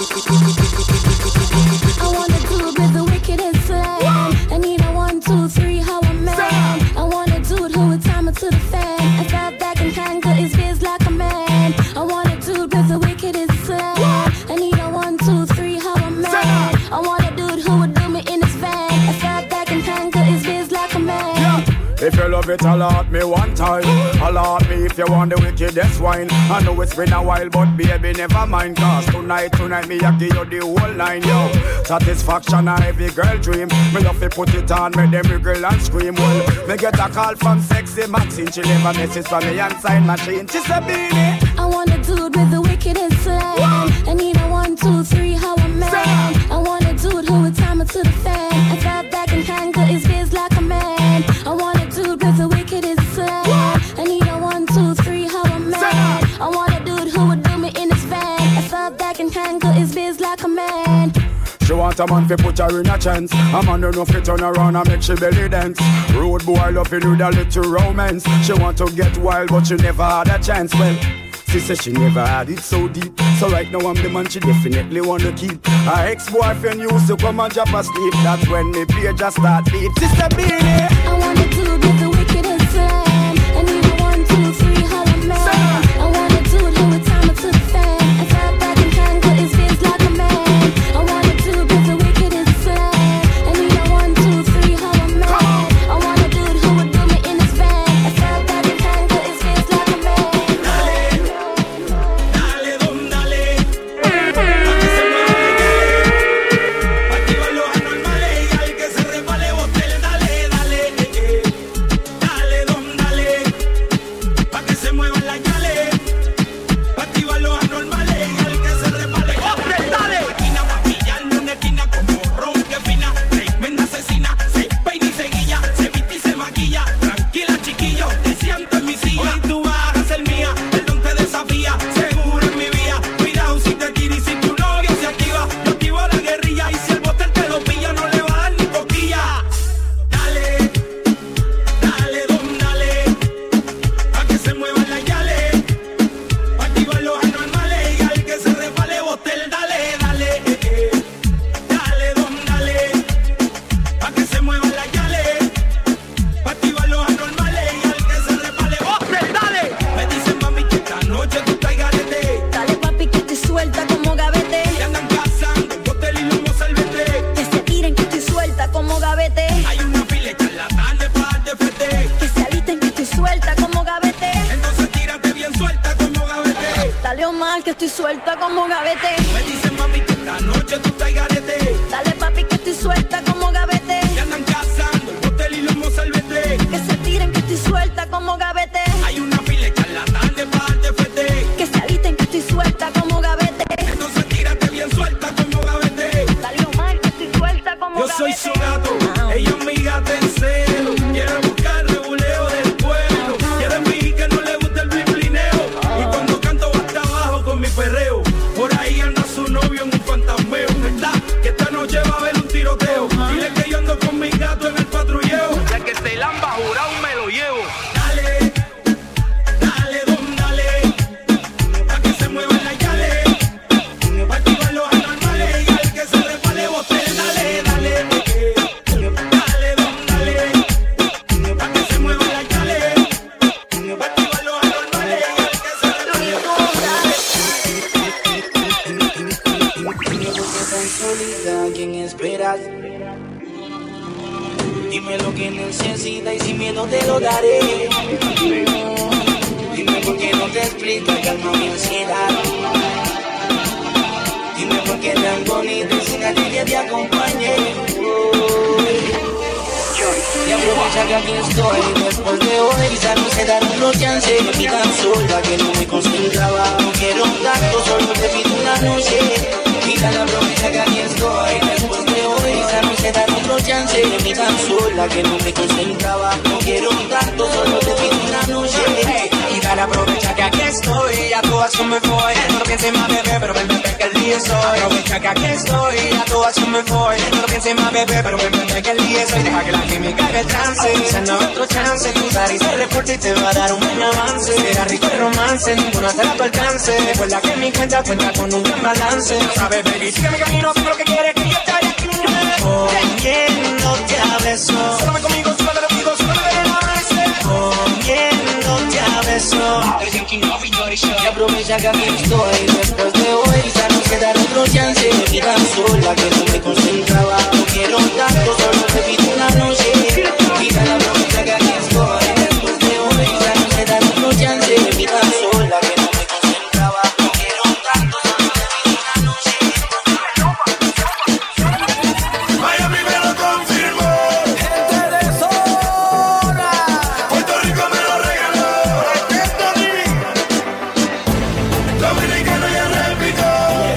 Speaker 4: I wanna do it with the wickedest slang. I need a 1, 2, 3, how I'm man. I wanna do it who would time it to the fan. I felt back and tangle his biz like a man. I wanna do it with the wickedest slang. I need a 1, 2, 3, how I'm man. I wanna do it who would do me in his van. I felt back and tangle his biz like a man.
Speaker 14: If you love it, alert me one time. Alert me if you want the wickedest wine. I know it's been a while, but baby, never mind. Cause tonight, me, I give you the whole line, yo. Satisfaction, a every girl dream. Me love to put it on, make them wiggle and scream. Well, me get a call from sexy Maxine. She leave a message from me and sign machine. She said, Beanie,
Speaker 4: I want a dude with the wickedest slang. I need a 1, 2, 3, how I'm man. I want a dude who would time it to the fan. I felt back and tangle his biz like a man. I want a dude with the wickedest slang. I need a 1, 2, 3, how I'm man. I want a dude who would do me in his van. I felt back and tangle his biz like a man.
Speaker 14: She want a man fi put her in a chance. A man don't know fi turn around and make she belly dance. Road boy loving with a little romance. She want to get wild but she never had a chance. Well, she said she never had it so deep. So right now I'm the man she definitely wanna keep. Her ex-boyfriend used to come and drop asleep. That's when me page just start beat. Sister Beanie,
Speaker 4: I want a dude with the wickedest slang. I need a 1, 2, 3, how I'm man. I want a dude who would time it to the fan. I felt back and tangle his biz like a man. I want a dude with the wickedest slang. I need a 1, 2, 3, how I'm man. I want a dude who would do me in his van. I felt back and tangle his biz like a man.
Speaker 12: Dale, don, dale. Pa' que se mueva, pa' activar los anormales y al que se resbale botel, dale, dale. Dale, don, dale. Pa' que se muevan las yales. Pa' activar los anormales y al que se resbale botel, dale. Máquina va a pillarle una esquina como ron que fina. Tremenda asesina, se peina y se guilla, se viste y se maquilla. Tranquila, chiquillo, te siento en mi silla. Hoy tú vas a ser mía, el don te desafía. Seguro en mi vía, cuidado si te tira y si tu novio se activa. Yo activo la guerrilla y si el botel te lo pilla no le va a dar ni coquilla. Dale, dale, don, dale. Pa' que se muevan las yales. Pa' activar los anormales y al que se resbale botel, dale, dale. Dale, don, dale. Pa' que se muevan las yales. Pa' activar los anormales y al que se resbale botel, dale. Me dicen mami que esta noche tú estás garete.
Speaker 4: Dale papi que estoy suelta como gavete.
Speaker 12: Que andan cazando botel y lomo salvete.
Speaker 4: Que se tiren que estoy suelta como gavete.
Speaker 12: Hay una fila en la tarde para darte fete.
Speaker 4: Que se alisten que estoy suelta como gavete.
Speaker 12: Entonces tírate bien suelta como gavete.
Speaker 4: Dale Omar que estoy suelta como gavete.
Speaker 12: Me dicen mami que esta noche tú estás garete.
Speaker 4: Dale papi que estoy suelta como gavete.
Speaker 12: Que andan cazando botel y lomo salvete.
Speaker 4: Que se tiren que estoy suelta como gavete.
Speaker 12: Hay una fila en la tarde para darte fete.
Speaker 4: Que se alisten que estoy suelta como gavete.
Speaker 12: Entonces tírate bien suelta como gavete.
Speaker 4: Dale Omar que estoy suelta como
Speaker 12: Yo
Speaker 4: gavete.
Speaker 12: soy su gato, ella es mi gata en celo. Quiere buscar rebuleo del pueblo. Quiere fingir que no le gusta el blineo. Y cuando canto va hasta abajo con mi perreo. Por ahí anda su novio.
Speaker 6: solita, ¿a quién esperas? Dime lo que necesitas y sin miedo te lo daré. Dime por qué no te explico, calma mi ansiedad. Dime por qué tan bonito y sin a ti que te acompañe. Y aprovecha que aquí estoy después de hoy. Quizás no se dan otro chance. Yo fui tan sola que no me concentraba. No quiero un tanto, solo te pido una noche. Quizás aprovecha que aquí estoy después de hoy. Quizás no se dan otro chance. Yo fui tan sola que no me concentraba. No quiero un tanto, solo te pido una noche.
Speaker 5: Y dale, aprovecha que aquí estoy. A tu acción me voy. No lo pienses más, bebé, pero ven que el día es hoy. Aprovecha que aquí estoy. A tu acción me voy. No lo pienses más, bebé, pero ven que el día es hoy. Deja que la química haga el trance. Quizás no otro chance. Tu nariz se reporta y te va a dar un buen avance. Será rico el romance, ninguna será tu alcance. Recuerda que mi cuenta cuenta con un gran balance. No sabes, baby, sigue mi camino, sé lo que quieres que yo te haya aquí.
Speaker 6: Comiéndote a besos.
Speaker 5: Solo conmigo, solo te lo digo, solo me ven amanecer.
Speaker 6: Comiéndote a besos. Y aprovecha que aquí estoy después de hoy. Quizás no se da otro chance. Me vi tan sola que no me concentraba. No quiero tanto, solo te pido una noche. Quizás aprovecha que aquí estoy después de hoy. Quizás no se da otro chance. Me vi tan sola que no me concentraba. No quiero tanto, solo te pido una noche.
Speaker 12: Miami me lo confirmó. Gente de zona. Puerto Rico me lo regaló. Dominicano ya repito.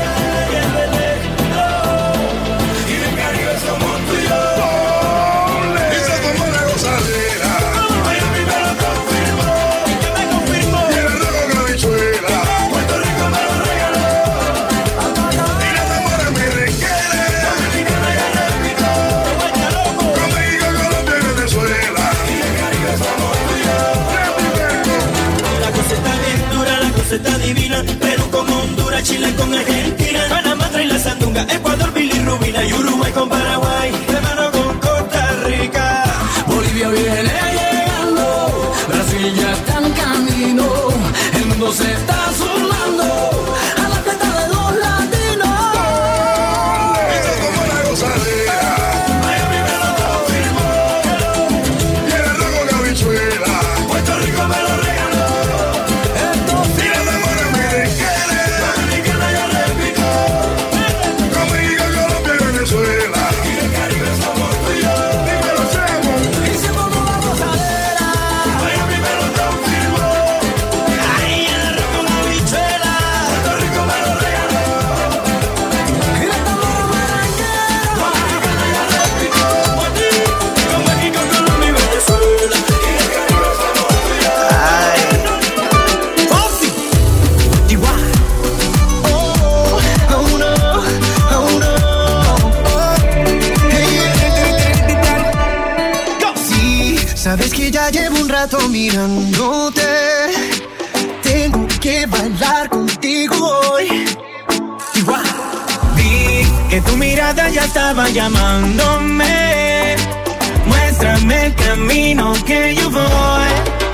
Speaker 12: Y del Caribe somos tú y yo. Dice como una gozadera. Miami me lo confirmó. ¿Qué me confirmó? Y el rojo con habichuela. Puerto Rico me lo regaló. Y la Zamora me requiere. Dominicano ya repito. Con México, Colombia y Venezuela. Y del Caribe somos tú y yo.
Speaker 5: La cosa está bien dura, la cosa está divina. Perú con Honduras, Chile con Argentina, Panamá trae la sandunga, Ecuador, bilirrubina y Uruguay con Paraguay, hermano con Costa Rica.
Speaker 12: Bolivia viene llegando, Brasil ya está en camino, el mundo se está sumando a la fiesta de los latinos. Eso como una gozadera. Miami me lo confirmó. Y el rojo con habichuela. Puerto Rico me lo regaló. Y la Zamora me requiere. Dominicana ya repito. Con México, Colombia y Venezuela. Y el Caribe somos tú y yo. Dímelo, Chemo. Y se como una gozadera. Miami me lo confirmó.
Speaker 5: Ay, el arroz con habichuela.
Speaker 12: Puerto Rico me lo regaló. Y la Zamora me requiere. Dominicana ya repito.
Speaker 5: Con México, Colombia y Venezuela.
Speaker 12: Y el Caribe somos tú y yo.
Speaker 9: Sí, sabes que ya llevo un rato mirándote. Tengo que bailar contigo hoy.
Speaker 5: Vi que tu mirada ya estaba llamándome. Muéstrame el camino que yo voy.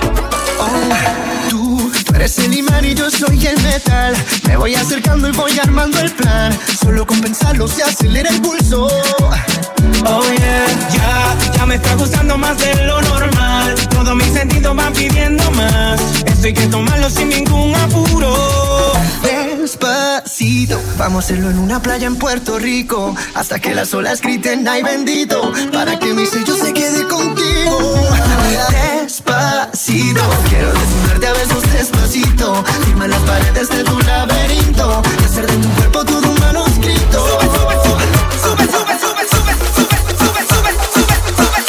Speaker 9: Tú eres el imán y yo soy el metal. Me voy acercando y voy armando el plan. Solo con pensarlo se acelera el pulso.
Speaker 5: Oh yeah, ya me está gustando más de lo normal. Todos mis sentidos van pidiendo más. Esto hay que tomarlo sin ningún apuro.
Speaker 9: Despacito, vamos a hacerlo en una playa en Puerto Rico. Hasta que las olas griten ay bendito. Para que mi sello se quede contigo. Despacito, quiero desnudarte a besos despacito. Firma las paredes de tu laberinto. Y hacer de tu cuerpo todo un manuscrito. Sube, sube, sube, sube, sube, sube, sube, sube, sube, sube,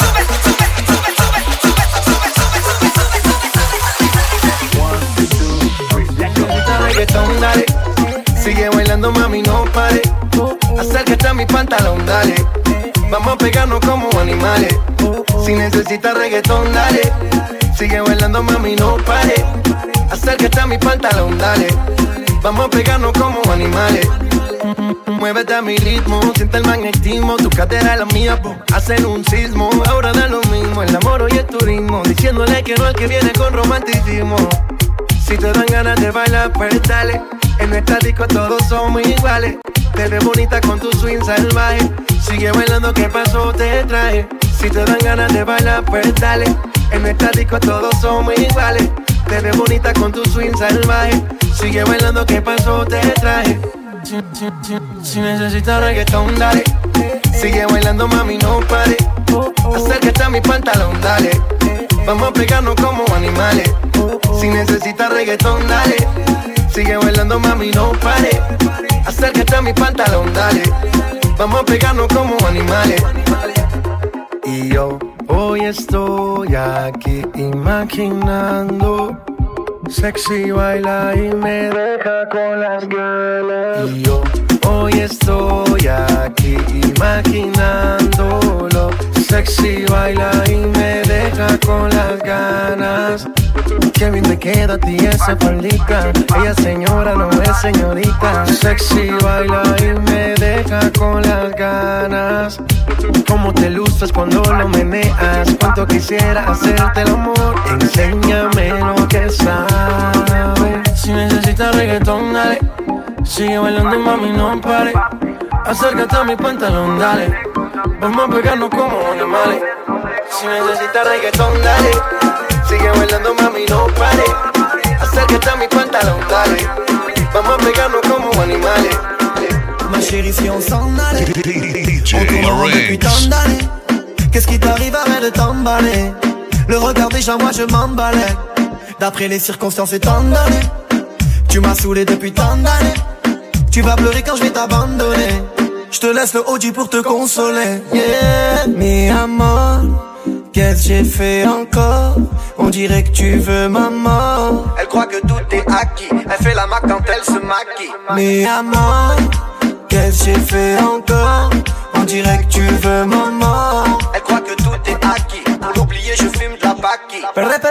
Speaker 11: Reggaetón, dale. Sigue bailando, mami, no pare. Acércate a mi pantalón, dale. Vamos a pegarnos como animales. Si necesitas reggaetón, dale. Sigue bailando, mami, no pare. Acércate a mi pantalón, dale. Vamos a pegarnos como animales. Muévete a mi ritmo, siente el magnetismo. Tu cadera es la mía, hacen un sismo. Ahora da lo mismo, el amor y el turismo. Diciéndole que no al que viene con romanticismo. Si te dan ganas de bailar, pues dale. En nuestra disco todos somos iguales. Te ves bonita con tu swing salvaje. Sigue bailando, ¿qué pasó? Te traje. Si te dan ganas de bailar, pues dale. En esta disco todos somos iguales. Te ves bonita con tu swing salvaje. Sigue bailando, ¿qué pasó? Te traje. Si necesitas reggaetón, dale. Sigue bailando, mami, no pare. Acércate a mi pantalón, dale. Vamos a pegarnos como animales. Si necesitas reggaetón, dale. Sigue bailando, mami, no pare. Acércate a mi pantalón, dale. Vamos a pegarnos como animales. Y yo hoy estoy aquí imaginando. Sexy baila y me deja con las ganas. Y yo hoy estoy aquí imaginándolo. Sexy baila y me deja con las ganas. Qué bien te queda a ti esa faldita. Ella señora, no es señorita. Sexy baila y me deja con las ganas. Cómo te luces cuando lo meneas. Cuánto quisiera hacerte el amor. Enséñame lo que sabes. Si necesitas reggaetón, dale. Sigue bailando, mami, no pare. Acércate a mi pantalón, dale. Vamos a pegarnos como animales. Si necesitas reggaetón, dale. Sigue bailando, mami, no pare. Acércate a mi pantalón, dale. Vamos a pegarnos como animales.
Speaker 6: Ma chérie, si on s'en allait, on tourne depuis tant d'années. Qu'est-ce qui t'arrive avec de t'emballer? Le regard déjà, moi je m'emballais. D'après les circonstances étant données, tu m'as saoulé depuis tant d'années. Tu vas pleurer quand je vais t'abandonner. Je te laisse le Audi pour te consoler. Yeah, mi amor, qu'est-ce que j'ai fait encore? On dirait que tu veux ma mort. Elle croit que tout est acquis. Elle fait la mac quand elle se maquille. Mi amor, qu'est-ce que j'ai fait encore? On dirait que tu veux ma mort. Elle croit que tout est acquis. Pour l'oublier, je fume de la paki.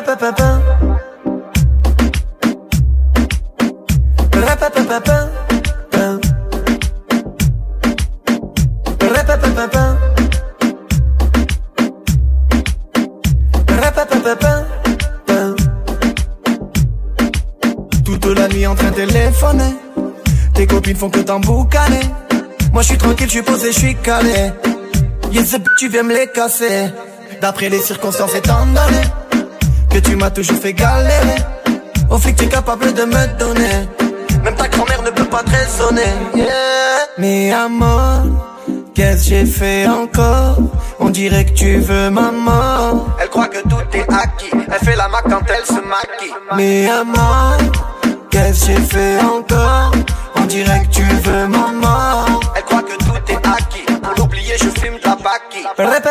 Speaker 6: Toute la nuit en train de téléphoner. Tes copines font que t'emboucaner. Moi je suis tranquille, je suis posé, je suis calé. Yes, tu viens me les casser. D'après les circonstances étant donné que tu m'as toujours fait galérer. Au flic tu es capable de me donner. Même ta grand-mère ne peut pas te raisonner. Yeah. Mi amor, qu'est-ce que j'ai fait encore? On dirait que tu veux ma mort. Elle croit que tout est acquis. Elle fait la mac quand elle se maquille. Mi amor, qu'est-ce que j'ai fait encore? On dirait que tu veux ma mort. Elle croit que tout est acquis. Pour l'oublier, je fume de la paki.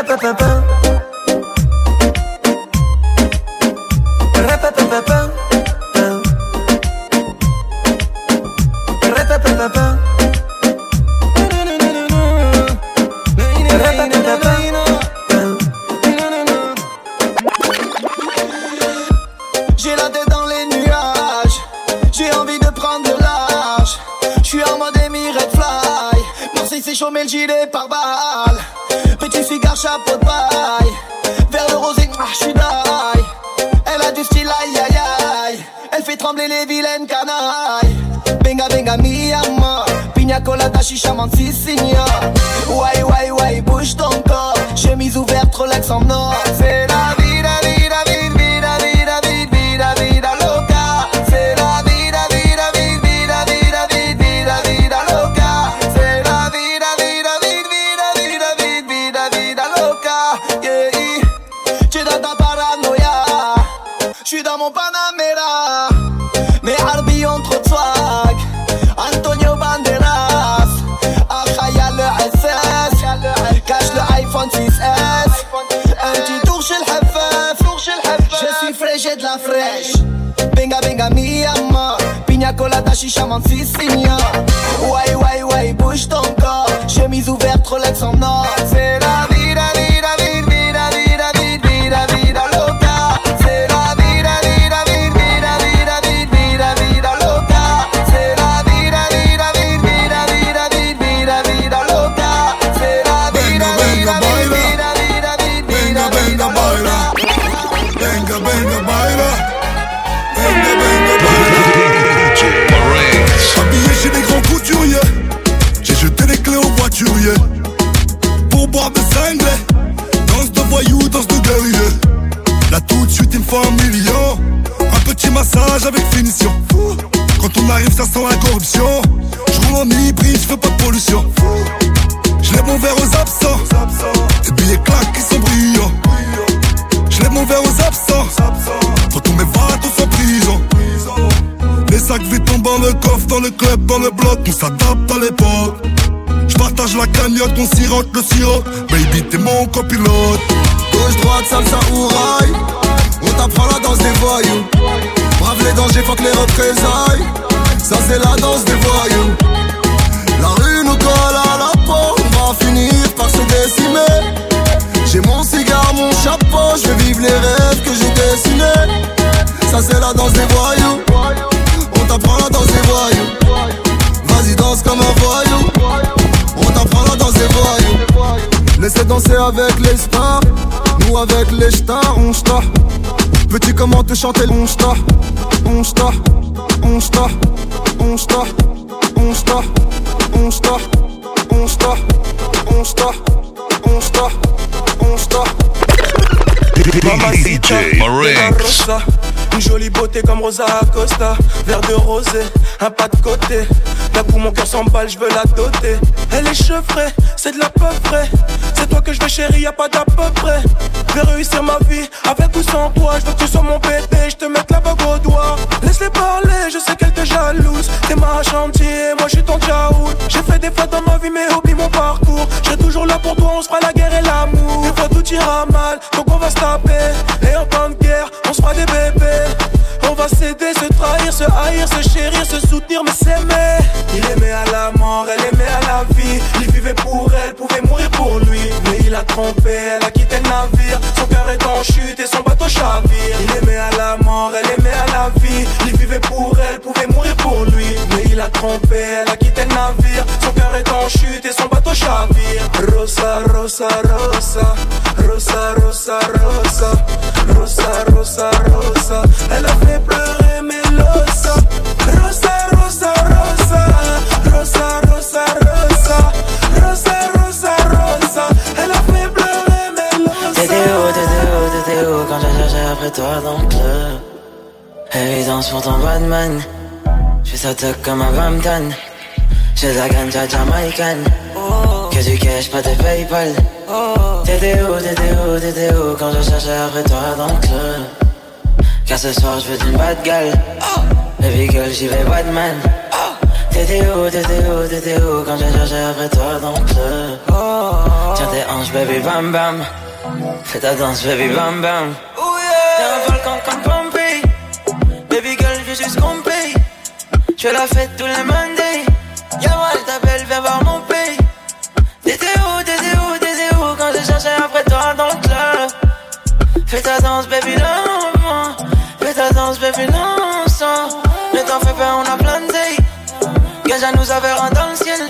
Speaker 6: J'ai la tête dans les nuages. J'ai envie de prendre de large. J'suis en mode Red Fly. Marseille c'est chaud mais le gilet par balle. Petit cigare, chapeau de paille. Vers le rosé, j'suis d'ail. Elle a du style, aïe aïe aïe. Elle fait trembler les vilaines canailles. Benga benga mi amor. Pina colada, chicha, mantisigna. Wai wai wai, bouge ton corps. Chemise ouverte, Rolex en or. C'est la vida, vida, vida, vida, vida, vida, vida, vida loca. C'est la vida, vida, vida, vida, vida, vida, vida loca. C'est la vida, vida, vida, vida, vida, vida, vida loca. Yeah, j'suis dans ta paranoïa. J'suis dans mon Panamera. Mais Harbi ont trop de swag. Antonio Banderas. Akhaya le SS. Cache le iPhone 6S. Un petit tour chez le Hafef. Je suis frais, j'ai de la fraîche. Benga benga mi amor. Pina colada, chicha, mantisigna. Wai wai wai, bouge ton corps. Chemise ouverte, Rolex en or. C'est la vida, vida, vida, vida, vida, vida, vida loca. C'est la vida, vida, vida, vida, vida, vida, vida loca. C'est la vida, vida, vida, vida, vida, vida, vida loca. C'est la vida, vida, vida, vida, vida, vida, vida loca.
Speaker 22: Venga, venga, baila. Venga, venga, baila.
Speaker 7: DJ Marinx.
Speaker 22: Habillé chez les grands couturiers. J'ai
Speaker 1: voyou, danse de guerrier. Là tout de suite il me faut 1 million. Un petit massage avec finition. Quand on arrive ça sent la corruption. Je roule en hybride, je fais pas de pollution. Je lève mon verre aux absents. Tes billets claquent qui sont brillants. Je lève mon verre aux absents. Pour tous mes vatos sont prison. Les sacs vides tombent dans le coffre, dans le club, dans le bloc. On s'adapte à l'époque. J'partage la cagnotte, on sirote le sirop. Baby t'es mon copilote.
Speaker 8: Gauche, droite, salsa ou rail. On t'apprend la danse des voyous. Brave les dangers, fuck les représailles. Ça c'est la danse des voyous. La rue nous colle à la peau. On va finir par se décimer. J'ai mon cigare, mon chapeau. Je vais vivre les rêves que j'ai dessinés. Ça c'est la danse des voyous. On t'apprend la danse des voyous. Vas-y danse comme un voyou. On t'apprend la danse des voyous. Laissez danser avec les stars. Nous avec les stars, on star. Petit comment te chanter, on star. On star, on star, on star, on star, on star, on star, on star, on star, on star.
Speaker 7: DJ Marinx.
Speaker 23: Une jolie beauté comme Rosa Acosta. Verre de rosé, un pas de côté. D'un coup mon cœur s'emballe, je veux la doter. Elle est chevrée, c'est de la peu près. C'est toi que je veux chérie, y'a pas d'à peu près. Je vais réussir ma vie, avec ou sans toi. Je veux que tu sois mon bébé, je te mette la bague au doigt. Laisse-les parler, je sais qu'elle te jalouse. T'es ma chantier, moi je suis ton tchaout. J'ai fait des fautes dans ma vie mais oublie mon parcours. Je serai toujours là pour toi, on se fera la guerre et l'amour. Des fois tout ira mal, donc on va se taper. Et en temps de guerre, on se fera des bébés. On va s'aider, se trahir, se haïr, se chérir, se soutenir, mais s'aimer. Il aimait à la mort, elle aimait à la vie. Il vivait pour elle, pouvait mourir pour lui. Mais il a trompé, elle a quitté le navire. Son cœur est en chute et son bateau chavire. Il aimait à la mort, elle aimait à la vie. Il vivait pour elle, pouvait mourir pour lui. Mais il a trompé, elle a quitté le navire. Son cœur est en chute et son bateau chavire. Rosa, rosa, rosa. Rosa, rosa, rosa. Rosa, rosa, rosa. Elle a fait pleurer Melosa. Rosa, rosa, rosa. Rosa, rosa, rosa. Rosa, rosa, rosa. Elle a fait pleurer Melosa.
Speaker 24: T'étais où quand j'ai cherché après toi dans le club? Évidence pour ton Batman. J'fais ça toc comme un Bampton. J'ai de la ganja jamaïcaine. Que du cash, pas de Paypal. T'étais où quand je cherchais après toi dans le club? Car ce soir je veux d'une bad girl. Baby girl j'y vais Batman. T'étais où quand je cherchais après toi dans le club? Tiens tes hanches baby bam bam. Fais ta danse baby bam bam. T'es un volcan comme Pompey. Baby girl je veux juste qu'on paye. Je la fête tous les Mondays. Yamal t'appelle viens voir mon pays. T'étais où quand je cherchais après toi dans le club? Fais ta danse baby non. Fais ta danse baby non sans. Ne t'en fais pas on a plein de days. Gage à nous avoir dans le ciel.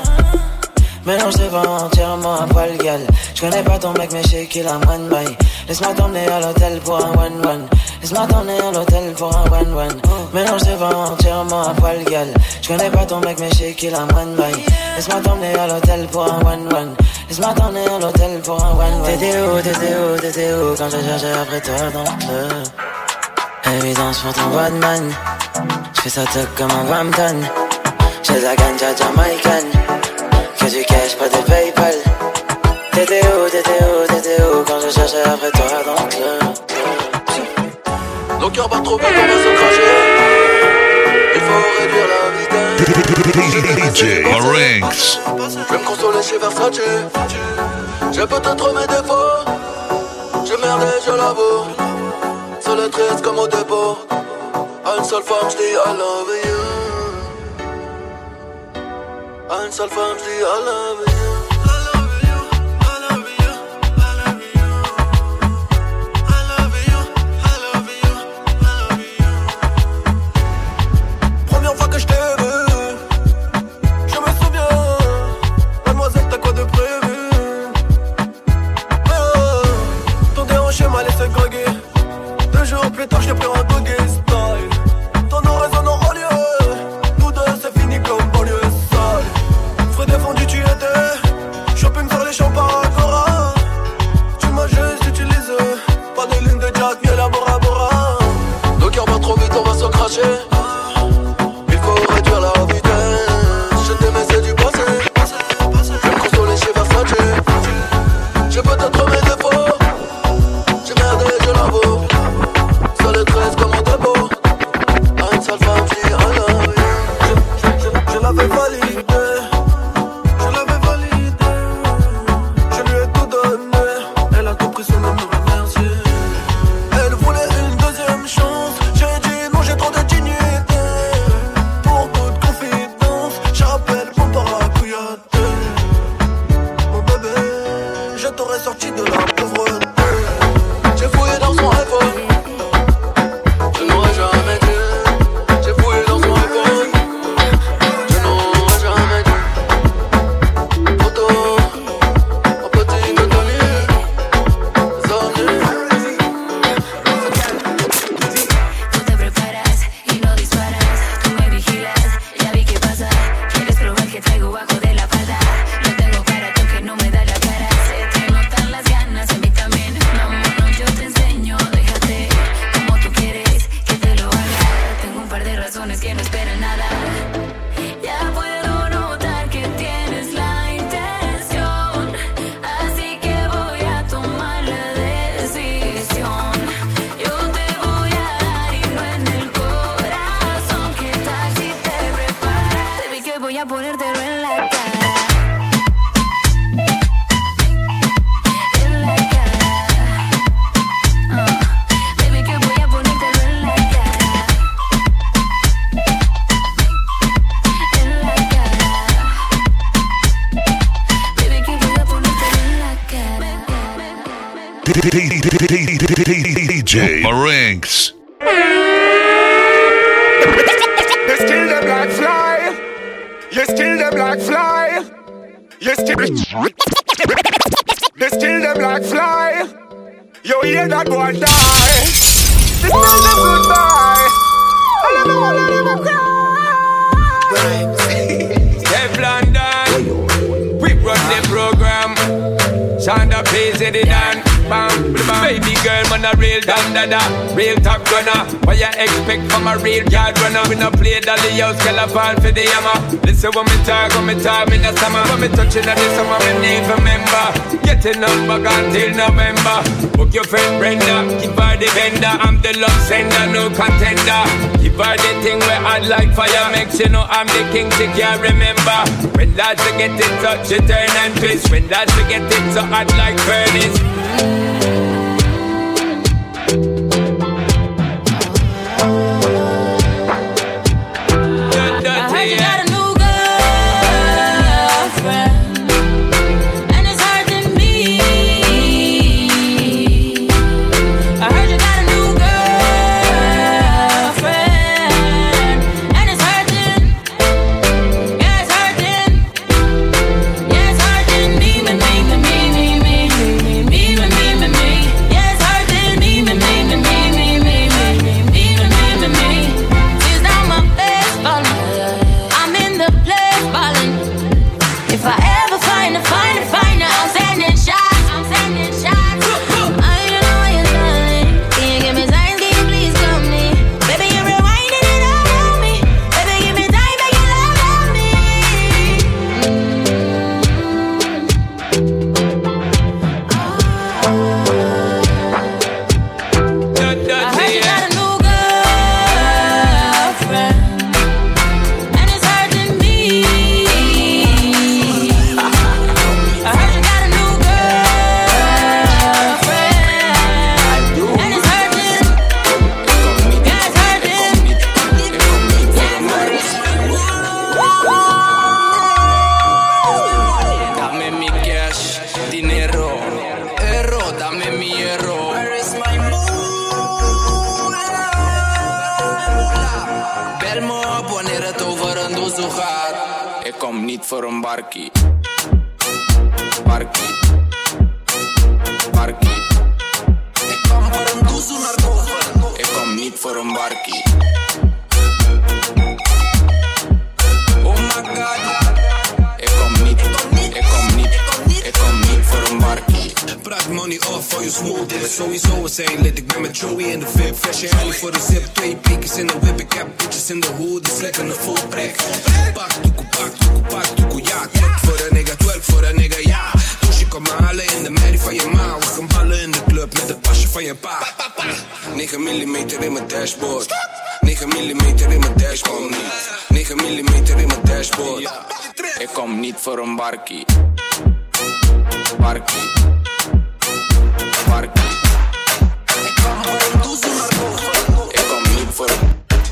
Speaker 24: Mais non j'sais pas entièrement à poil gal. J'connais pas ton mec mais j'sais qu'il a one by. Laisse-moi t'emmener à l'hôtel pour un one. Laisse-moi t'emmener à l'hôtel pour un one. Mais non j'sais pas entièrement à poil gal. J'connais pas ton mec mais j'sais qu'il a one by. Laisse-moi t'emmener à l'hôtel pour un one. Laisse-moi t'emmener à l'hôtel pour un one. T'étais où quand je cherchais après toi dans le club? Évidence pour ton Batman. J'fais ça toc comme un Bampton. J'ai de la ganja jamaïcaine. Que du cash, pas de Paypal. T'étais où quand je cherchais après toi dans le club?
Speaker 11: Nos cœurs battent trop vite, on va se cracher. Il faut réduire la vitesse.
Speaker 7: DJ Marinx.
Speaker 11: Je vais me consoler chez Versace. J'ai peut-être mes défauts. J'ai merdé, je l'avoue. Sur le 13 comme au dépôt. À une seule femme, j'dis I love you. À une seule femme, j'dis I love you. Plus tard, j'ai pris un doggy style. Ton nom résonne en lieu. Nous deux, c'est fini comme banlieue sale. Frais défendu, tu étais.
Speaker 23: lâcher. Il faut réduire la vitesse. Je t'aimais, c'est du passé. Je me consoler chez Versace. J'ai peut-être mes défauts. J'ai merdé, je l'avoue. Seul et 13 comme un dépôt. À une seule femme, je dis I love you. Je l'avais validé. Je l'avais validé. Je lui ai tout donné. Elle a tout pris sans me remercier. Elle voulait une deuxième chance. J'ai dit non, j'ai trop de dignité. Pour toute confidence, j'appelle mon parapluiate. Mon bébé, je t'aurais sorti de la pauvreté. J'ai fouillé dans son iPhone. Je n'aurais jamais dû. J'ai fouillé dans son iPhone. Je n'aurais jamais dû. Photo, en petit contenu.
Speaker 4: Tú te preparas y no disparas. Tú me vigilas, ya vi qué pasa. Quieres probar que traigo bajo de la falda. Lo tengo para tú que no me da la cara. Se te notan las ganas, a mí también. Vámonos, yo te enseño. Déjate como tú quieres que te lo haga. Tengo un par de razones que no esperan nada. Ya puedo notar que tienes la intención. Así que voy a tomar la decisión. Yo te voy a dar y no en el corazón. ¿Qué tal si te preparas? Baby, que voy a ponértelo en la cara. En la cara. Baby, que voy a ponértelo en la cara. En la cara. Baby, que voy a ponértelo en la cara.
Speaker 7: DJ Marinx.
Speaker 14: You still them like fly. You still them like fly. You still. They still them like fly. You hear that boy die. This is them goodbye. All of them cry.
Speaker 2: Teflon Dan, we run the program. Shonda pays it done. Bam, bam. Baby girl, man a real dada, real top gunner. What you expect from a real yard runner? We no play dolly house, girl a fall for the hammer. Listen when me talk in the summer. When me touching on the summer, me need remember. Getting up back until November. Book your friend Brenda, give her the vendor. I'm the love sender, no contender. Give her the thing where I'd like fire. Makes you know I'm the king, she can't remember. When lads to get it touch, you turn and twist. When lads to get it so hot like furnace.
Speaker 10: niet voor een barkie. Barkie. Barkie. Ik kwam voor een doezoe naar boven. Ik kom niet voor een barkie. Oh my god. Ik kom niet voor een barkie.
Speaker 13: Praat money niet off voor je smooth. Dit is sowieso een zijn lid. Ik ben met Joey in de VIP. Fresh en alley voor de zip. 2 piekers in de whip. Ik heb bitches in de hoed. Dus lekker een full prek. Pak toekoe, ja. Twerk voor de nigga, twerk voor de nigga, ja. Dus je kan me halen in de merrie van je ma. We gaan ballen in de club met het pasje van je pa. 9 mm in mijn dashboard. 9 mm in mijn dashboard. 9 mm in mijn dashboard.
Speaker 10: Ik kom niet voor een barkie. Barkie. Barkie. Ik kom niet voor een...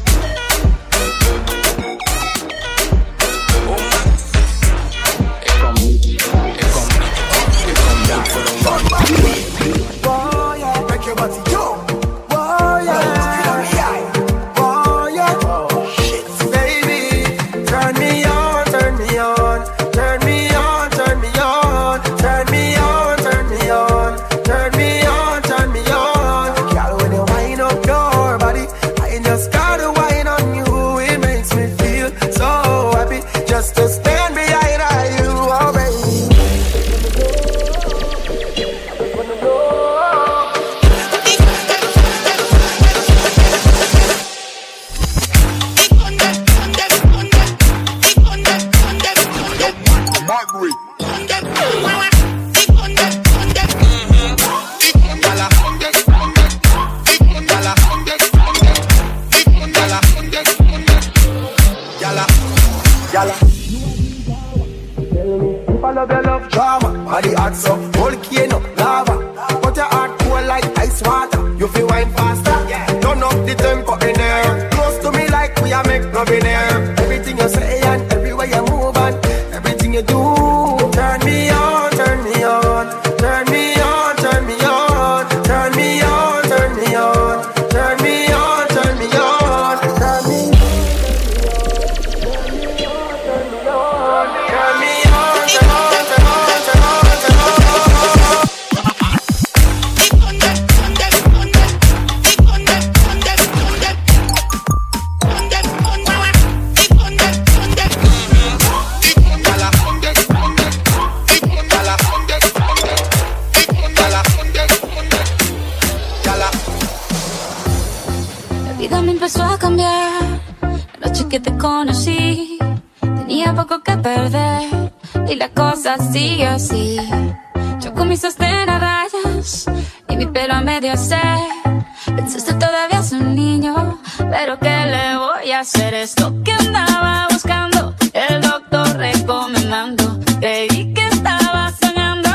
Speaker 16: Sigue así, yo con mi sostén a rayas y mi pelo a medio se. Pensaste todavía es un niño, pero ¿qué le voy a hacer? Es lo que andaba buscando, el doctor recomendando. Creí que estaba soñando,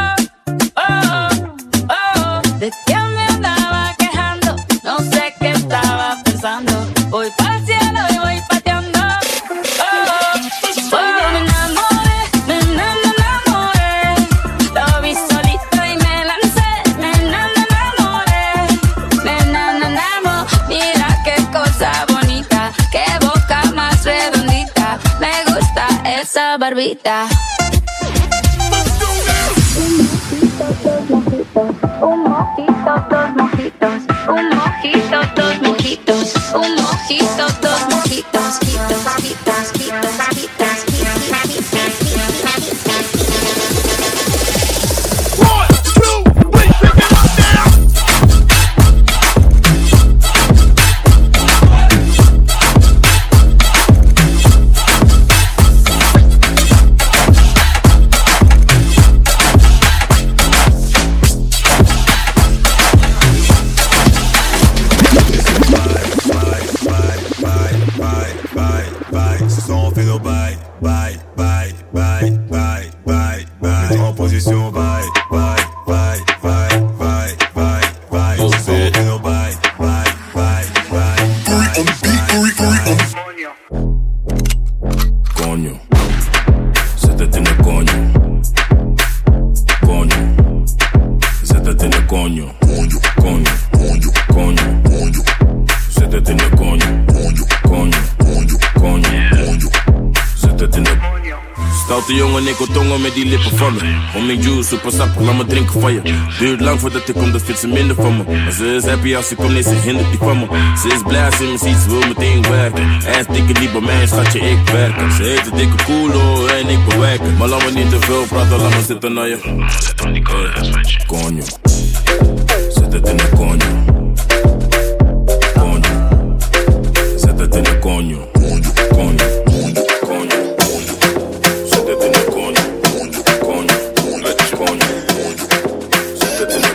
Speaker 16: oh, oh, de que me andaba quejando. No sé qué estaba pensando, voy para el cielo y voy pateando. Esa barbita. Un mojito, dos mojitos. Un mojito, dos mojitos. Un mojito, dos mojitos.
Speaker 17: Stoute jongen, ik wil tongen met die lippen van me. Homing juice, super sappig, laat me drinken van je. Duurt lang voordat ik kom, dan vindt ze minder van me. Maar ze is happy als ze komt, nee, ze hindert die van me. Ze is blij als ze me ziet, ze wil meteen werken. Ass dikke niet bij mij, schatje, ik werken. Ze heet de dikke koelo en ik bewerken. Maar laat me niet te veel praten, laat me zitten naar je. Zit aan die koude ass, weet je. Konjo. Siéntate en el coño. Coño. Siéntate en el coño. Coño. Coño. Siéntate en el coño. Coño. Coño. Siéntate en el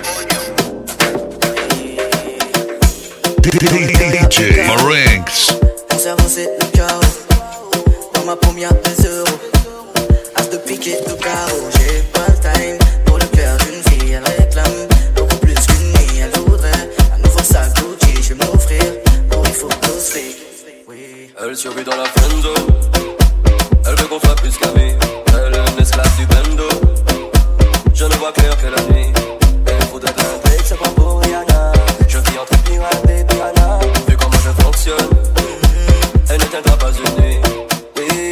Speaker 7: DJ Marinx.
Speaker 6: Mon cerveau c'est le chaos. Dans ma première 2 euros. As de pique et de carreau. J'ai pas le time pour le cœur d'une fille. Elle réclame beaucoup plus qu'une nuit. Elle voudrait un nouveau sac Gucci. Je vais m'offrir pour il faut t'offrir. Oui.
Speaker 15: Elle survit dans la friendzone. Elle veut qu'on soit plus qu'amis. Elle est une esclave du bando. Je ne vois clair que la nuit. Elle faudrait un break, c'est pas pour Rihanna. Je vis entre pirates et piranhas. Vu comment je fonctionne, elle n'éteindra pas une nuit. Oui.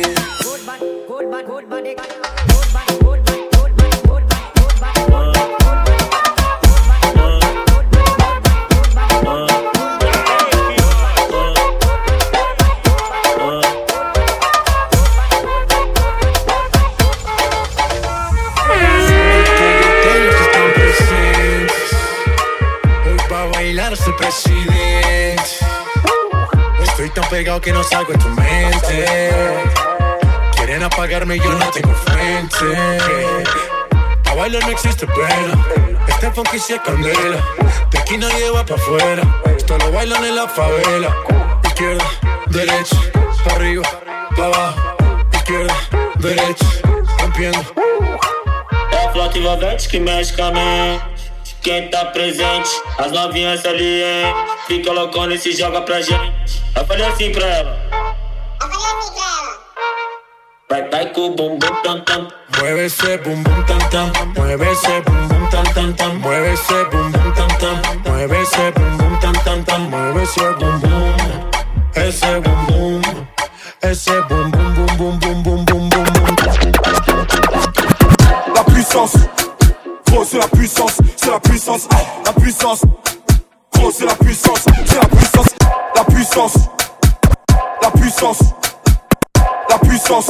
Speaker 18: Soy presidente. Estoy tan pegado que no salgo de tu mente. Quieren apagarme y yo no tengo frente. Pa' bailar no existe pena. Este funky sí es candela. De aquí nadie va pa' afuera. Esto lo bailan en la favela. Izquierda, derecha, pa' arriba, pa' abajo. Izquierda, derecha, rompiendo.
Speaker 19: É a flota envolvente que mexe com a mente. Quem tá presente, as novinhas ali, hein? Fica loucona e se joga pra gente. Eu falei assim pra ela. Vai com o bumbum tam tam.
Speaker 18: Mueve ese bumbum tam tam. Mueve ese bumbum tam tam tam. Mueve ese bumbum tam tam. Mueve ese bumbum tam tam tam. Mueve ese bumbum. Ese bumbum. Ese bumbum bum bum bum bum bum bum bum.
Speaker 1: La puissance. Gros c'est la puissance, c'est la puissance, la puissance. Gros c'est la puissance, c'est la puissance, la puissance, la puissance, la puissance,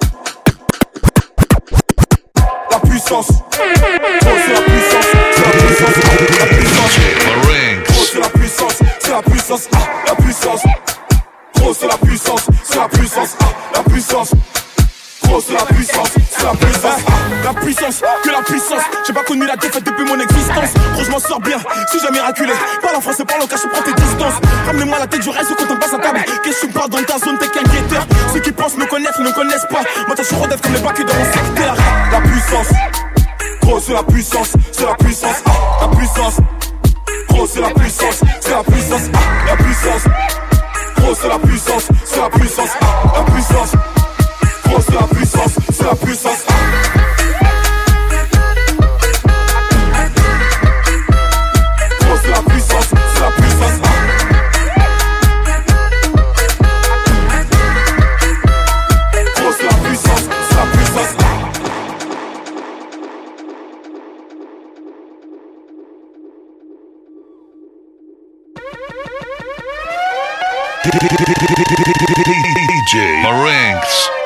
Speaker 1: la puissance. Gros c'est la puissance, c'est la puissance, la puissance. Gros c'est la puissance, c'est la puissance, la puissance. Gros c'est la puissance, c'est la puissance, la puissance. Gros c'est la puissance, c'est la puissance. La puissance, que la puissance. J'ai pas connu la défaite depuis mon existence. Gros je m'en sors bien, si j'ai miraculé. Parle en français, parle en cash, prends tes distances. Ramenez-moi la tête, je reste quand on passe à table. Qu'est-ce que tu parles dans ta zone, t'es qu'un guetteur. Ceux qui pensent me connaissent, ne connaissent pas. Moi t'as chaud d'être comme les bacs dans mon secteur. La puissance, gros c'est la puissance, c'est la puissance, la puissance. Gros c'est la puissance, c'est la puissance, la puissance. Gros c'est la puissance, c'est la puissance, la puissance. Gros c'est la puissance, c'est la puissance. Gros c'est la puissance, c'est la puissance. Gros c'est la puissance, c'est la puissance.
Speaker 7: DJ Marinx.